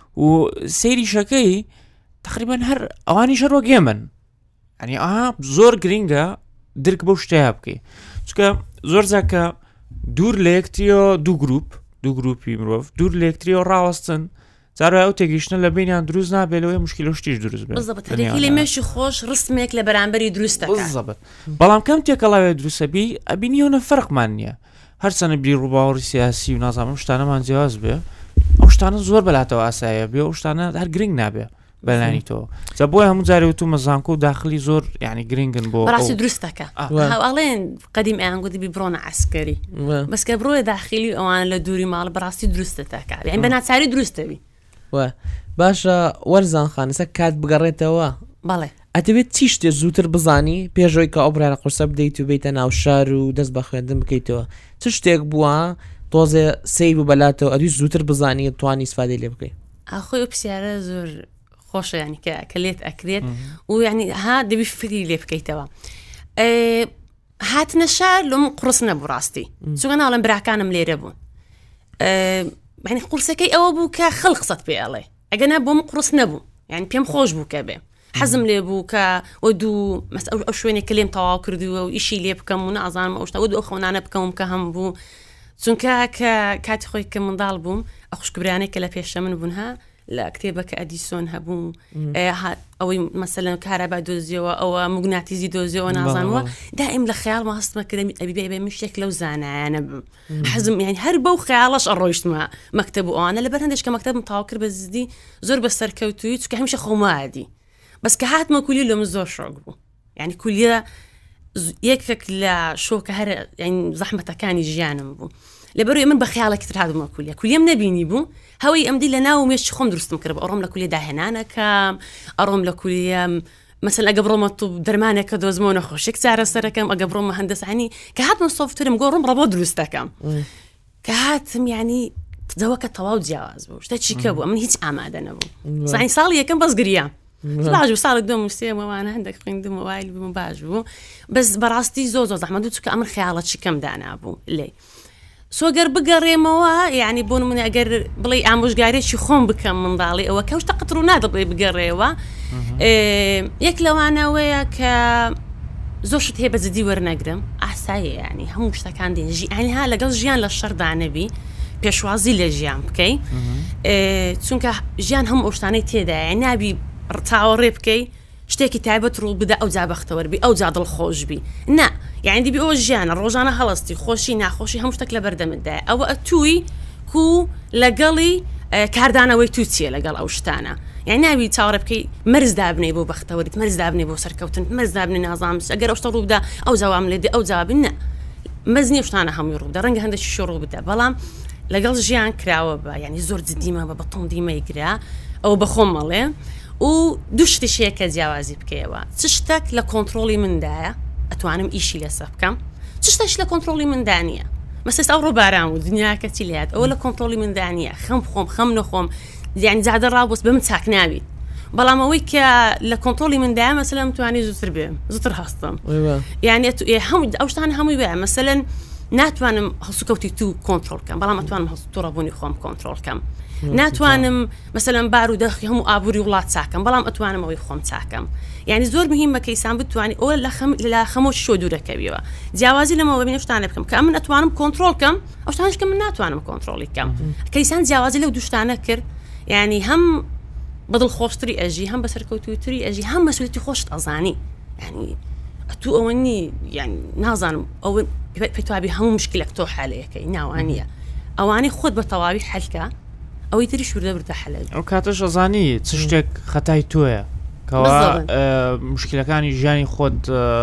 S3: و سيري شكي تقريبا هر اواني شرو جيمن يعني اه زور جرينجا درك بوشتابكي چونکە زۆر زاکە دوور لە یەکتریەوە دوو گروپ دوو گروپی مرۆڤ دوور لە یەکتریەوە ڕاوەستن جارێ ئەو تێگەیشتنە لە بینیان دروست نابێت لەوەی مشکلە شتیش دروست بێت
S4: بالضبط هەرێکی لێ مێشی خۆش ڕستمێک لە بەرامبەری دروست دەکات
S3: بالضبط بەڵام کەم تێکەڵاوێت دروستەبی ئەبینیەوە فەرقمان نییە هەرچەنە بیر ڕووباوەڕی سیاسی و نازانم شتانەمان جیاواز بێ ئەو شتانە زۆر بەلاتەوە ئاساییە بێ ئەو شتانە هەر گرنگ نابێ بەلانی تۆ جا بۆیە هەموو جارێ و تو مەزانکۆ و داخلی زۆر یعنی گرنگن بۆ
S4: بەڕاستی دروستەکە هەواڵێن قەدیم ئەیان گوتی ببڕۆنە عسکەری بەس کە بڕۆیە داخلی ئەوان لە دووری ماڵ بەڕاستی دروستەکە یعنی بەناچاری دروستەبی
S2: باشە وەرزان خانەسە کات بگەڕێتەوە
S4: بەڵێ
S2: ئەتەبێت چی شتێ زووتر بزانی پێشەوەی کە ئەو برایە قورسە بدەیت و بێتە ناو شار و دەست بە خوێندن بکەیتەوە چ شتێک بووە تۆزێ سەی بوو بەلاتەوە ئەدوی زووتر بزانی توانی سفادەی لێ بکەیت
S4: ئاخۆی پرسیارە زۆر خۆشە ینی کە کەلێت ئەکرێت و ینی ها دەبی فکری لێ بکەیتەوە هاتنە شار لەم قورس نەبوو ڕاستی چونکە ناڵێن براکانم لێرە بوون ینی قورسەکەی ئەوە بوو کە خەڵق قسەت پێ ئەڵێ ئەگەنا بۆم قورس نەبوو یعنی پێم خۆش بوو کە بێ حەزم لێ بوو کە وە دوو ئەو شوێنێک کە لێم تەواو کردووە و ئیشی لێ بکەم و نازانم ئەو شتا وە دوو ئەو خەونانە بکەم کە هەم بوو چونکە کە کاتی خۆی کە منداڵ بووم ئە خوشکبرانێک کە لە پێشە من بوونها لە کتێبەکە ئەدیسۆن هەبوو ئەوەی مەسەلەن کارەبا دۆزیەوە ئەوە موگناتیزی دۆزیەوە نازانوە دائیم لە خەیاڵمە هەستمە کردمی ئەبی بێ من شتێک لەو زانایانە بم حەزم یعنی هەر بەو خەیاڵەش ئەڕۆیشتمە مەکتەب و ئەوانە لەبەر هەندێک کە مەکتەبم تاوا کرد بە زیدی زۆر بە سەرکەوتووی چونکە هەمیشە خۆمادی بەس کە هاتمە کولی لەم زۆر شۆک بوو یعنی کولیە یەکێک لە شۆکە هەر زەحمەتەکانی ژیانم بوو لەبەرەوەی من بە خیاڵێکی تر هاتبوومە کولیا کولیم نەبینی بوو هەوەی ئەمدی لە ناو مێشتی خۆم دروستم کرد بە ئەڕۆم لە کولی داهێنانەکەم ئەڕۆم لە کولیم مثلا ئەگە بڕۆمە تو دەرمانێکە دۆزمەوە نەخۆشێک چارە سەرەکەم ئەگە بڕۆمە هەندەسانی کە هاتمە سۆفتورم گۆڕم ڕەبۆ دروستەکەم کە هاتم ینی دەوەکە تەواو جیاواز بوو شتە چیکە بوو من هیچ ئامادە نەبوو زانی ساڵی یەکەم بەس گریام باش بوو ساڵی دوم سێمەوانە هەندێک خوێندم موبایل بووم باش بوو بەس بەڕاستی زۆ زۆر زەحمەت بوو چونکە ئەمن خەیاڵە چیکەم دانابوو لێ سۆگەر بگەڕێمەوە یعنی بۆ نمونە ئەگەر بڵێ ئامۆژگارێکی خۆم بکەم منداڵی ئەوە کەوتە قەتڕ و نادەبڵێ بگەڕێەوە یەک لەوانەوەیە کە زۆر شت هەیە بەجددی وەرنەگرم ئاسایە ینی هەموو شتەکان دێن ژیانها لەگەڵ ژیان لە شەردانەبی پێشوازی لە ژیان بکەی چونکە ژیان هەموو ئەو شتانەی تێدایە نابی ڕتاوەڕێ بکەی شتێکی تایبەت ڕوو بدە ئەو جا بەختەوەربی ئەو جا دڵخۆشبی نا یعنی دیبی ئەو ژیانە ڕۆژانە هەڵستی خۆشی ناخۆشی هەموو شتێک لە بەردەمتدایە ئەوە ئەتووی کو لەگەڵی کاردانەوەی تو چیە لەگەڵ ئەو شتانە یعنی ناوی چاوەڕێ بکەی مەرز دابنێ بۆ بەختەوەریت مەرز دابنێ بۆ سەرکەوتن مەرز دابنێ نازانم ئەگەر ئەو شتە ڕوو بدە ئەو جواب لێ ئەو جوابی نە مەز نییە شتانە هەمووی ڕوو بدە ڕەنگە هەندێکی شۆڕوو بدە بەڵام لەگەڵ ژیان کراوە بە ینی زۆر جدیمە بە بەتۆم دیمەیگرا ئەو بەخۆم مەڵێ و دوو شتیشەیە کە جیاوازی بکەیەوە چ شتێک لە کۆنتترۆلی مندایە ئەتوانم ئیشی لەسەر بکەم چ شتێک لە کۆنتترۆلی مندانیە مەسەس ئەو ڕۆباران و دنیاکە چی لات ئەوە لە کۆنتترۆلی مندانیە خەم بخۆم خەم نەخۆم یعنی جادە ڕابوس بە من چاک ناویت بەڵام ئەوەی کە لە کۆنتترۆلی مندایە مەسەلەن توانی زووتر بێم زووتر هەستم یعنی هەموو ئەو شتان هەمووی وایە مەسەلەن ناتوانم هەسوکەوتی تو کۆنتترۆلکەم بەڵام ئەتوانم تووڕەبوونی خۆم کۆنتترۆلکەم ناتوانم مەسەلەن بار و دەخی هەموو ئابووری وڵات چاکەم بەڵام ئەتوانم ئەوەی خۆم چاکەم یعنی زۆر مهمە کەیسان بتوانانی ئەوە لە خەمۆش شۆ دوورەکەویەوە جیاوازی لەمەوە ببینە شتانە بکەم کە من ئەتوانم کۆنتترۆلکەم ئەو شتانش کە من ناتوانم کۆنتترۆلی بکەم کەیسان جیاوازی لەو دوو شتانە کرد یعنی هەم بەدڵ خۆشتری ئەژی هەم بەسەرکەوتوتری ئەژی هەم مەسوولەتی خۆشت ئەزانی ینی ئەتو ئەوە نی یعنی نازانم ئەوە پێتوابی هەموو مشکلێک تۆ حالەیەەکەی ناوانیە ئەوانەی خۆت بە تەواوی حەلکە ئەوەی تری شوردە بردە حەلەی
S3: ئەو کاتەش ئەزانی چ شتێک خەتای تۆیە کەوا مشکلەکانی ژیانی خۆت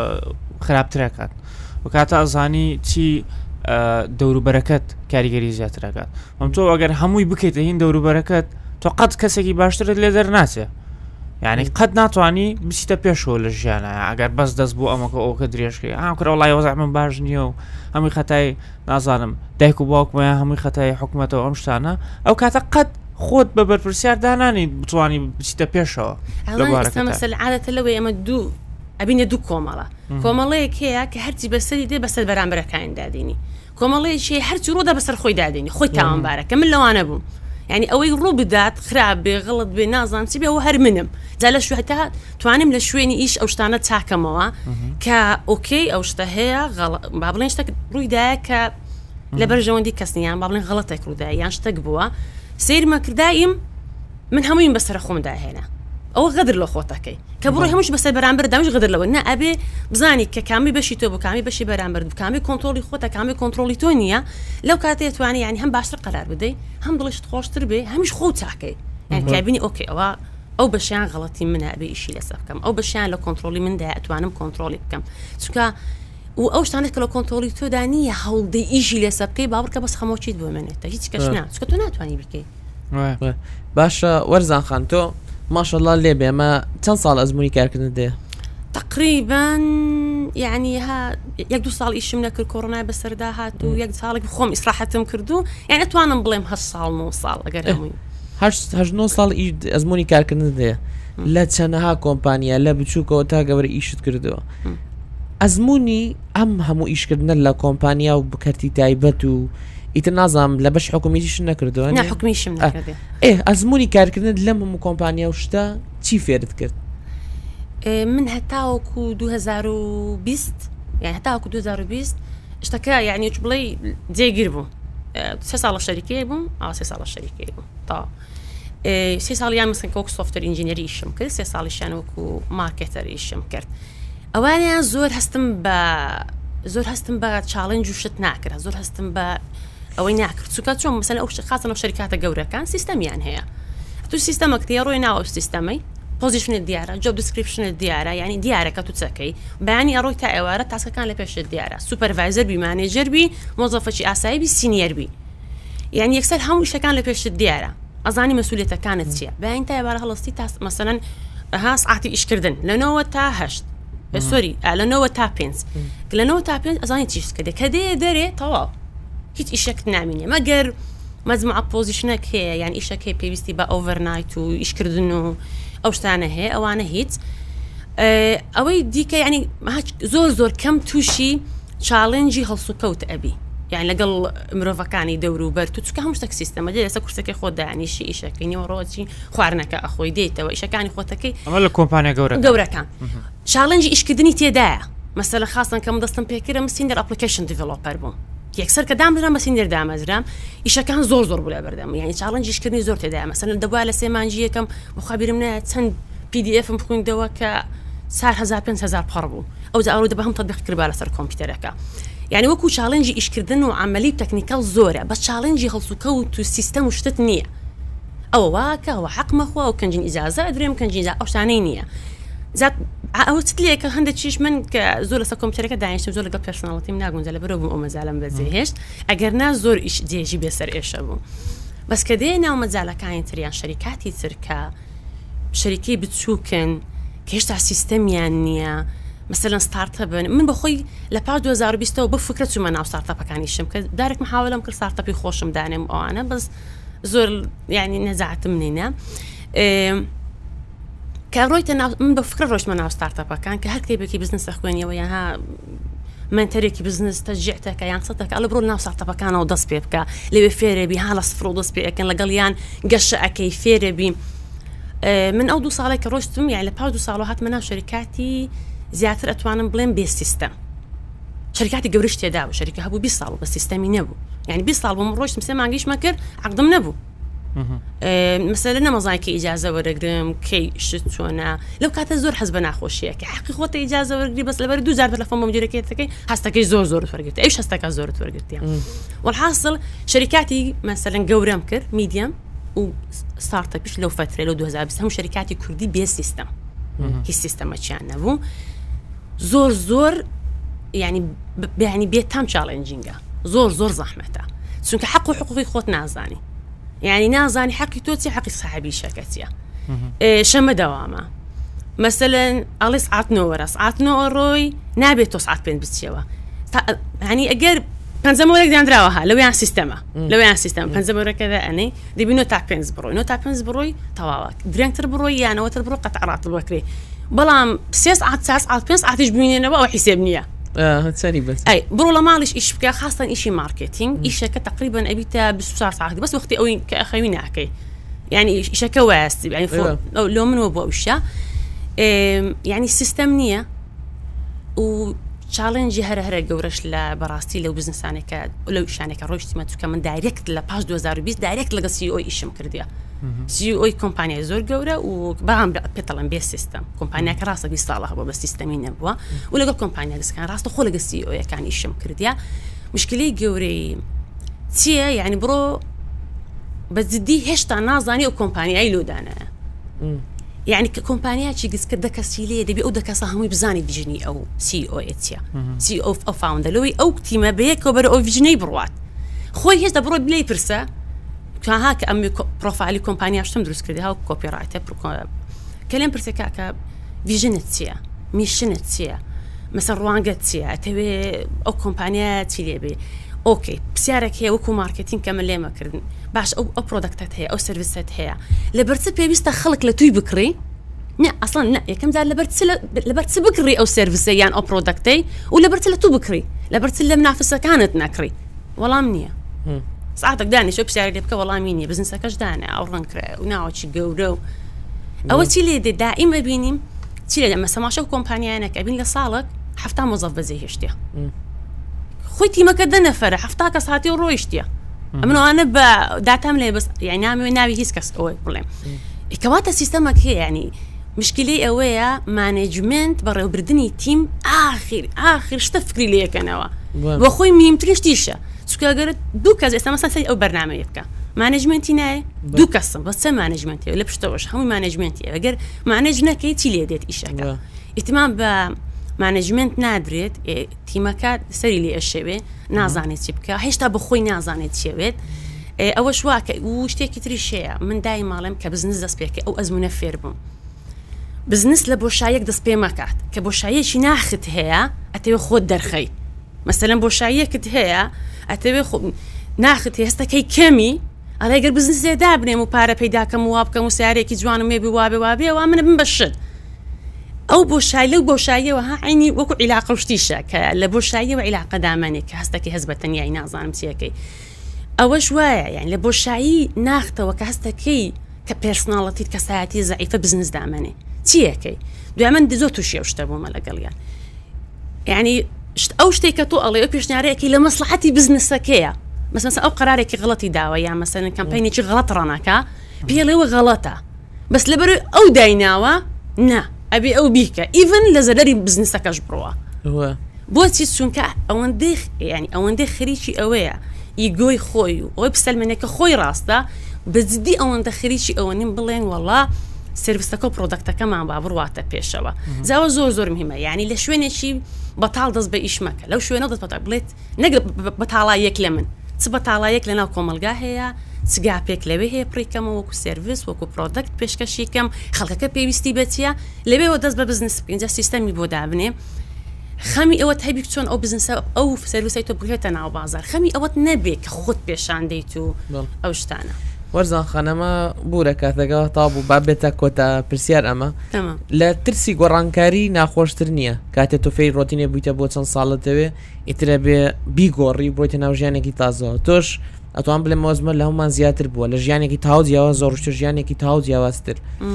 S3: خراپترەکات و کاتە ئەزانی چی دەوروبەرەکەت کاریگەری زیاترەکات ئەم تۆ ئەگەر هەمووی بکەیتە هین دەوروبەرەکەت تۆ قەت کەسێکی باشترت لێ دەرناچێ یعنی قەت ناتوانانی بچیتە پێشەوە لە ژیانە ئەگەر بەس دەست بوو ئەمەکە ئەوکە درێژکەی ئا کرا وڵای وەزع من باش نییە و هەمووی خەتای نازانم دایک و باوکمەیە هەمووی خەتای حکوومەتەوە ئەم شتانە ئەو کاتە قەت خۆت بە بەرپرسیار دانانی بتوانانی بچیتە پێشەوە
S4: مەسەل عادەتە لەوەی ئەمە دوو ئەبینە دوو کۆمەڵە کۆمەڵەیەک هەیە کە هەرچی بەسەری دێ بەسەر بەرامبەرەکان دادینی کۆمەڵەیەکی هەرچی ڕۆدا بەسەر خۆی دادینی خۆی تاوانبارەکە من لەوانە بووم یعنی ئەوەی ڕوو بدات خراپ بێ غڵت بێ نازان چی بێ ئەوە هەر منم جا لە شوێتا توانم لە شوێنی ئیش ئەو شتانە چاکەمەوە کە ئۆکەی ئەو شتە هەیە با بڵێن شتێک ڕوویدایە کە لە بەرژەوەندی کەسنیان با بڵێن غڵەتێک ڕوودای یان شتێک بووە سیرمەکردایم من هەموویم بەسەر خۆمدا هێنا ئەوە غەدر لە خۆتەکەی کە بڕۆی هەمووش بەسەر بەرامبەر دامش غەدر لەوە نا ئەبێ بزانی کە کامی بەشی تۆ بوو کامی بەشی بەرامبەر بوو کامی کۆنتترۆلی خۆتە کامی کۆنتترۆلی تۆ نییە لەو کاتێ توانی ینی هەم باشتر قەرار بدەیت هەم دڵشت خۆشتر بێ هەمیش خۆ چاکەی یان کابینی ئۆکێ ئەوە ئەو بەشیان غەڵەتی منە ئەبێ ئیشی لەسەر بکەم ئەو بەشیان لە کۆنتترۆلی مندا ئەتوانم کۆنتترۆلی بکەم چونکە و ئەو شتانێک کە لە کۆنتترۆلی تۆدا نییە هەوڵدەی ئیشی لەسەر بکەی باوەڕکە بەس خەمۆچیت بۆ منێتە هیچ کەس نا چکە تۆ ناتوانانی بکەیت
S2: باشە وەرزان خان تۆ ماشەڵڵا لێ بێ ئەمە چەند ساڵ ئەزمموی کارکردن دێ
S4: تقریبا یعنی ها یەک دو ساڵ ئیشم نەکرد کۆڕۆنای بەسەردا هات و یەک ساڵێک خۆم ئیسراحەتم کردو یعنی ئەتوانم بڵێم هەشت ساڵ نۆ ساڵ ئەگەر هەمووی
S2: هەشت نۆ ساڵ ئەزمموی کارکردن دێ لە چەندەها کۆمپانیا لە بچووکەوە تا گەورە ئیشت کردەوە ئەزمموی ئەم هەموو ئیشکردنە لە کۆمپانیا و بکەرتی تایبەت و ئیتر نازام لە بەش حکومیتیش نەکردەوە
S4: نه حکومیشم نەکردێ
S2: ئێ ئەزمموی کارکردن لەم هەموو کۆمپانیا و شتە چی فێرت کرد
S4: من هەتاوەکو دوو هەزار و بیست یعنی هەتاوەکو دوو هەزار و بیست شتەکە یعنی چ بڵێ جێگیر بوو سێ ساڵە شەریکەیە بووم ئەو سێ ساڵە شەریکەیە بووم تا سێ ساڵیان مثلا کۆک سۆفتەر ئینجینەری ئیشم کرد سێ ساڵیشیان وەکو مارکێتەر ئیشم کرد ئەوانیان زۆر هەستم بە زۆر هەستم بە چاڵنج و شت ناکرا زۆر هەستم بە ئەوەی ناکرد چونکە چۆن مەسەلەن ئەو خاصن ئەو شەریکاتە گەورەکان سیستەمیان هەیە تو سیستەمەکتی ڕۆی ناوە سیستەمەی پۆزیشنت دیارە جۆب دیسکریپشنت دیارە یعنی دیارەکە تو چەکەی بەیانی ئەڕۆی تا ئێوارە تاسکەکان لە پێشت دیارە سوپەرڤایزەر بی مانێجەر بی مۆزەفەکی ئاسایی بی سینیەر بی یعنی یەکسەر هەموو شتەکان لە پێشت دیارە ئەزانی مەسئولیەتەکانت چییە بەیان تا ئێوارە هەڵستی تا مەسەلەن ها سعاتی ئیشکردن لەنەوە تا هەشت سۆری لەنەوە تا پێنج لەنەوە تا پێنج ئەزانی چیش کردێ کە دێ دەرێ تەواو هیچ ئیشێکت نامینێ مەگەر مەجموعە پۆزیشنێک هەیە یان ئیشەک هەیە پێویستی بە ئۆڤەرنایت و ئیشکردن و ئەو شتانە هەیە ئەوانە هیچ ئەوەی دیکە ینی زۆر زۆر کەم تووشی چاڵنجی هەڵسوکەوت ئەبی یان لەگەڵ مرۆڤەکانی دەور و بەر تو چکە هەموو شتێک سیستەمە دێ لەسەر کورسەکەی خۆت دانیشی ئیشەکەی نیوەڕۆچی خواردنەکە ئەخۆی دێتەوە ئیشەکانی خۆتەکەی
S3: ئەمە لە کۆمپانیا گەورە
S4: گەورەکان چاڵنجی ئیشکردنی تێدایە مەسەلە خاستن کەم دەستم پێکرە سینیەر ئەپلیکیشن دیڤلۆپەر بووم یەکسەر کە دامدرام بە سینیەر دامەزرام ئیشەکان زۆر زۆر بوو لە بەردەم یعنی چاڵنجی ئیشکردنی زۆر تێدایە مەسەلەن دەبووە لە سێ مانجی یەکەم بخوابیرم نایە چەند پی دی ئێفم بخوێندەوە کە چوار هەزار پێنج هەزار پەڕ بوو ئەو جا ئەوڕۆ دەبە هەم تەطبیق کردبا لەسەر کۆمپیوتەرەکە یعنی وەکو چاڵنجی ئیشکردن و عملی تەکنیکەڵ زۆرە بە چاڵنجی هەڵسوکەوت و سیستەم و شتت نییە ئەوە واکە ئەوە حەقمەخوا و کەنجین ئیجازە ئەدرێم کەنجین ئەو شتانەی نییە ئەوە چ لێکە هەندێک چیش من کە زۆر لەسەر کۆمپیوتەرەکە دانیشتم زۆر لەگەڵ پێرسۆناڵیتیم ناگونجە لەبەرەوە بووم ئەو مەجالەم بەجێهێشت ئەگەر نا زۆر ئیش جێژی بێسەر ئێشە بوو بەس کە دێ ناو مەجالەکانی تریان شەریکاتی ترکە شەریکەی بچووکن کە هێشتا سیستەمیان نییە مثلا ستارتە بن من بەخۆی لە پاش دوو هەزار و بیستەوە بە فکرە چوومە ناو ستارتەپەکانیشم کە دارێک محاولەم کرد ستارتەپی خۆشم دانێم ئەوانە بەس زۆر یعنی نەزاعتم نینە کە ڕۆیتە من بە فکرە ڕۆژمە ناو ستارتەپەکان کە هەر کتێبێکی بزنس خوێنیەوە یانها منتەرێکی بزنس تەجیعتەکە یان سەتەکە ئەلە بڕۆ ناو ستارتەپەکانەوە دەست پێ بکە لەوێ فێرەبی ها لە سفر و دەست پێ ئەکەن لەگەڵ یان گەشە ئەەکەی فێرەبی من ئەو دوو ساڵێک کە ڕۆشتم یان لە پاش دوو ساڵ هاتمە ناو شەریکاتی زیاتر ئەتوانم بڵێم بێ سیستەم شەریکاتی گەورەش تێدا بوو شەریکە هەبوو بیست ساڵ بە سیستەمی نەبوو یعنی بیست ساڵ بۆم ڕۆشتم سێ مانگیشمە کرد عەقدم نەبوو مەسەلە نەمەزانی کە ئیجازە وەرەگرم کەی شت چۆنە لەو کاتە زۆر حەز بە ناخۆشیە کە حەقی خۆتە ئیجازە وەرگری بەس لەبەر دوو جار تەلەفۆن بە مدیرەکەیەکەی هەستەکەی زۆر زۆر وەرگرت ئەوش هەستەکە زۆرت وەرگرتیە وەڵحاصل شەریکاتی مەسەلەن گەورەم کرد میدیەم و ستارتەپیش لەو فترە لەو دوو هەزار و بیست هەموو شەریکاتی کوردی بێ سیستەم هیچ سیستەمەکیان نەبوو زۆر زۆر ینی بەیانی بێت تام چاڵنجینگە زۆر زۆر زەحمەتە چونکە حەق و حقوقی خۆت نازانی یعنی نازانی حەقی تۆ چی حەقی ساحەبی شەکەتیە شەمە دەوامە مەسەلەن ئەڵێ سعات نۆ وەرە سعات نۆ ڕۆی نابێت تۆ سعات پێنج بچیەوە ینی ئەگەر پەنجەم وەرەك دانراوەها لەویان سیستەمە لەویان سیستەم پەنجەم وەرەکەدا ئەنێ دەبی نۆ تا پێنج بڕۆی نۆ تا پێنج بڕۆی تەواوە درێنگتر بڕۆی یانەوەتر بڕۆ قەتعڕات بکرێ بەڵام سێ سعات چوار سعات پێنج سعاتیش ببینێنەوە ئەو حیسێب نییە ئەی بڕۆ لە ماڵیش ئیش بکە خاستن ئیشی مارکتینگ ئیشەکە تقریبا ئەبیتە بیست و چوار ساعتی بەس وەختی ئەوەی کە ئەخەوی ناکەی یعنی ئیشەکە وایستی یعنی لۆ منەوە بۆ ئەوشە یعنی سیستەم نییە و چاڵنجی هەرە هەرە گەورەش لە بەڕاستی لەو بزنسانێکە لەو شانێکە ڕۆیشتیمە چونکە من دایرێکت لە پاش دوو هەزار و بیست دایرێکت لەگەڵ سی ئۆ ئیشم کردیە سی ئۆی کۆمپانیای زۆر گەورە و بەڵام پێتەڵم بێ سیستەم کۆمپانیاکە ڕاستە بیست ساڵە هەبووە بە سیستەمی نەبووە و لەگەڵ کۆمپانیا دەستکان ڕاستە خۆ لەگە سی ئۆیەکان ئیشم کردیە مشکلەی گەورەی چییە یعنی بڕۆ بە جددی هێشتا نازانی ئەو کۆمپانیای لۆدانایە یعنی کە کۆمپانیاکی گسکە دەکەسی لێ دەبێ ئەو دەکەسە هەمووی بزانی ڤیژنی ئەو سی ئۆ چیە سی ئۆ ئەو فاوندەرەوەی ئەو تیمە بەیەکەوە بەرە ئەو ڤیژنەی بڕوات خۆی هێشتا بڕۆ بلێ پرسە ها کە ئەم پرۆفایلی کۆمپانیا شتم دروست کردی ها کۆپیڕایتە کە لێم پرسێکا کە ڤیژنت چییە میشنت چییە مەسەڵ ڕوانگەت چییە ئەتەوێ ئەو کۆمپانیا چی لێ بێ ئۆکەی پرسیارێک هەیە وەکو مارکتینگ کە من لێمەکردن باش ئەو ئەو پرۆدەکتت هەیە ئەو سرویست هەیە لەبەرچ پێویستە خەڵک لە توی بکڕی نه ئەسڵان نه یەکەم جار لەبەرچ بکڕی ئەو سرویسە یان ئەو پرۆدەکتەی و لەبەرچ لە تو بکڕی لەبەرچ لە منافسەکانت نەکڕی وەڵام نییە ساعتك داني شو بسعر اللي بكا والله ميني بزنس كاش دانا او رنكرا وناوتشي جورو او تي لي دائما بيني تي لما سما شو كومبانيا انا كابين لصالك حفتا موظف بزي هشتيا خويتي ما كدنا فرح حفتاك ساعتي ورويشتيا امنو انا داتام لي بس يعني نامي ناوي هيسكس او بروبليم كواتا سيستمك هي يعني مشكلة اويا مانجمنت برا بردني تيم اخر اخر شتفكري ليك انا واخوي ميمتريش تيشه چونکە ئەگەر دوو کەس ئێستا مەسەڵەن ئەو بەرنامەیە بکە مانجمنتی نایە دوو کەسم بەس چە مانجمنتی لە پشتەوەش هەمووی مانجمنتی ئەگەر مانج نەکەی چی لێ دێت ئیشەکە ئیتیمان بە مانجمنت نادرێت تیمەکە سەری لێ ئەشەوێ نازانێت چی بکە هێشتا بەخۆی نازانێت چێوێت ئەوە شواکە و شتێکی تریشەیە من دای ماڵم کە بزنس دەست پێکە ئەو ئەزمونە فێر بووم بزنس لە بۆشایەک دەست پێ مەکات کە بۆشایەکی ناخت هەیە ئەتەوێ خۆت دەرخەی مەسەلەن بۆشایەکت هەیە ئەتەوێ ناخت هێستەکەی کەمی ئەڵێگەر بزنس لێدا بنێم و پارە پەیداکەم و وابکەم و سیارێکی جوانم مێبی وابێ وابێ وا منە بم بەشت ئەو بۆشای لەو بۆشاییەوە ها عینی وەکو عیلاقە شتیشە کە لە بۆشاییەوە عیلاقە دامانێک کە هەستەکەی هەز بە تەنیایی نازانم چیەکەی ئەوەش وایە یعنی لە بۆشایی ناختەوە کە هەستەکەی کە پێرسناڵەتیت کەسایەتی زەعیفە بزنس دامانێ چیەکەی دوای من زۆر تووشی ئەو شتە بوومە لەگەڵیان یعنی ئەو شتێک کە تۆ ئەڵێ ئەو پێشنیارەیەکی لە مەسلحەتی بزنسەکەیە مثلا ئەو قرارێکی غڵەتی داوە یان مەسەلەن کەمپەینێکی غڵەت ڕەنەکە پێڵێوە غەڵەتە بەس لەبەر ئەو دایناوە نا ئەبێ ئەو بیکە ئیڤن لە زەرەری بزنسەکەش بڕوە بۆچی چونکە ئەوەندەی ینی ئەوەندەی خەریکی ئەوەیە ئیگۆی خۆی و ئەوەی پسەلمێنێکە خۆی ڕاستە بەجددی ئەوەندە خەریکی ئەوە نیم بڵێن وەڵا سرویسەکە و پرۆدەکتەکەمان با بڕواتە پێشەوە زاوە زۆر زۆر مهمە یعنی لە شوێنێکی بەتاڵ دەست بە ئیش مەکە لەو شوێنە دەست بەتاڵ بڵێت نەک بەتاڵایەک لە من چ بەتاڵایەک لەناو کۆمەلگا هەیە چگا پێک لەوێ هەیە پڕیکەمە وەکو سرویس وەکو پرۆدەکت پێشکەشیکەم خەڵکەکە پێویستی بەچیە لەوێەوە دەست بە بزنس بکەین جا سیستەمی بۆ دابنێ خەمی ئەوەت هەبی چۆن ئەو بزنسە ئەو سرویسەی تۆ بگرێتە ناو بازار خەمی ئەوەت نەبێ کە خۆت پێشان دەیت و ئەو شتانە
S2: وەرزان خانەمە بوورە کاتەکە تابوو با بێتە کۆتە پرسیار ئەمە لە ترسی گۆڕانکاری ناخۆشتر نییە کاتێ تۆ فێی ڕۆتینێ بوویتە بۆ چەند ساڵەتەوێ ئیترە بێ بیگۆڕی بڕۆیتە ناو ژیانێکی تازەوە تۆش ئەتوان بڵێ مۆزمە لە هەمومان زیاتر بووە لە ژیانێکی تاو جیاواز زۆرشتر ژیانێکی تاو جیاوازتر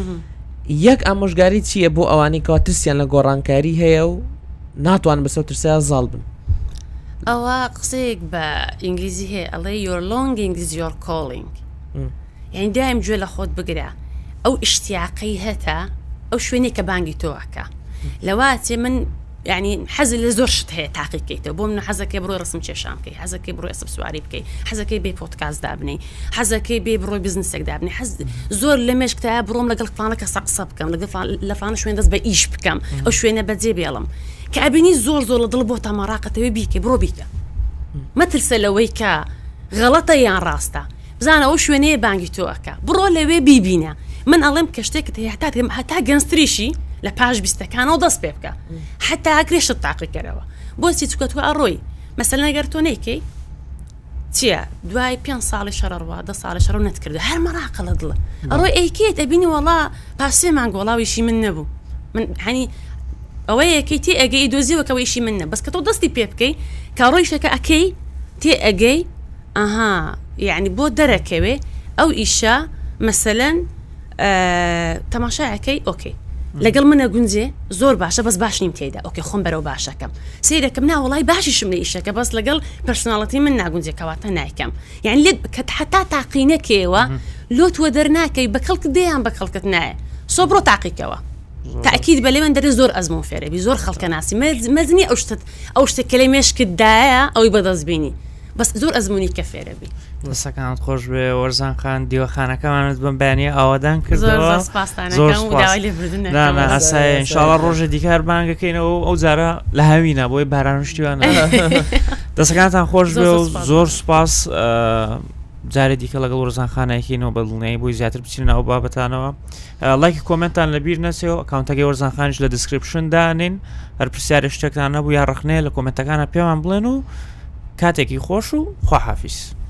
S2: یەک ئامۆژگاری چییە بۆ ئەوانی کەوا ترسیان لە گۆڕانکاری هەیە و ناتوان بەسەر ترسیان زاڵ بن
S4: ئەوە قسەیەک بە ئینگلیزی هەیە ئەڵێ your longing is your calling یعنی دایم گوێ لە خۆت بگرە ئەو ئیشتیاقەی هەتا ئەو شوێنێک کە بانگی تۆوەکە لەواتێ من یعنی حەزی لە زۆر شت هەیە تاقیکەیتەوە بۆ من حەزەکەی بڕۆی ڕسم کێشان بکەی حەزەکەی بڕۆی ئەسب سواری بکەی حەزەکەی بێ پۆدکاست دابنەی حەزەکەی بێ بڕۆی بزنسێک دابنێ حەز زۆر لە مێشکتە بڕۆم لەگەڵ فلانەکە قسە بکەم لە فلانە شوێن دەست بە ئیش بکەم ئەو شوێنە بەجێ بێڵم کە ئەبینی زۆر زۆر لە دڵ بۆ تەماڕاقەتەوەی بیکە بڕۆ بیکە مەترسە لەوەی کە غەڵەتە یان ڕاستە بزانە ئەو شوێنەیە بانگی تۆەکە بڕۆ لەوێ بیبینە من ئەڵێم کە شتێکت هەیە هەتا هەتا گەنجتریشی لە پاش بیستەکانەوە دەست پێ بکە حتا ئاگرێشت تاقیکەرەوە بۆچی چکە تو ئەڕۆی مەسەلەن ئەگەر تۆ نەیکەی چییە دوای پێنج ساڵی شەڕەڕوا دە ساڵی شەڕ نەتکردو هەر مەراقە لە دڵە ئەڕۆی ئەیکێت ئەبینی وەڵا پاسێ مانگە وەڵاویشی من نەبوو من هەنی ئەوەی یەکەی تێ ئەگەی دۆزیەوەکەوە ئیشی من نە بەس کە تۆ دەستی پێ بکەی کا ڕۆیشەکە ئەکەی تێ ئەگەی ئەها یعنی بۆ دەرەکەوێ ئەو ئیشە مەسەلەن تەماشایەکەی ئۆکەی لەگەڵ منە گونجێ زۆر باشە بەس باش نیم تێدا ئۆکێ خۆم بەرەو باشەکەم سیرەکەم ناوەڵای باشیشم لە ئیشەکە بەس لەگەڵ پرسناڵەتی من ناگونجێ کەواتە نایکەم یعنی لێت کە حتا تاقینەکەوە لۆت وە دەرناکەی بە کەڵک دەیان بە کەڵکت نایە سۆ بڕۆ تاقیکەوە تاکید بە لێوێن دەرێ زۆر ئەزمون فێرەبی زۆر خەڵکە ناسی مەزنی ئەو شتت ئەو شتێک کە لە مێشکتدایە ئەوی بەدەستبینی بەس زۆر ئەزمونی کە فێرەبی
S3: دەسەکانت خۆش بێ وەرزان خان دیوەخانەکەمانت بم بەیانیە ئاوادان کردەوە ئاسایە ئینشاڵڵا ڕۆژە دیکار بانگەکەینەوە ئەو جارە لە هاوینە بۆی بارانشتیوانە دەسەکانتان خۆش بێ و زۆر سوپاس جارێ دیکە لەگەڵ وەرزان خانایەکەینەوە بەدڵنیایی بۆی زیاتر بچین ناو بابەتانەوە لایکی کۆمنتان لەبیر نەچێەوە ئەکاونتەکەی وەرزان خانیش لە دیسکریپشن دانین هەر پرسیارە شتێکتان نەبوو یا ڕخنەیە لە کۆمنتەکانە پێمان بڵێن و کاتێکی خۆش و خواحافیز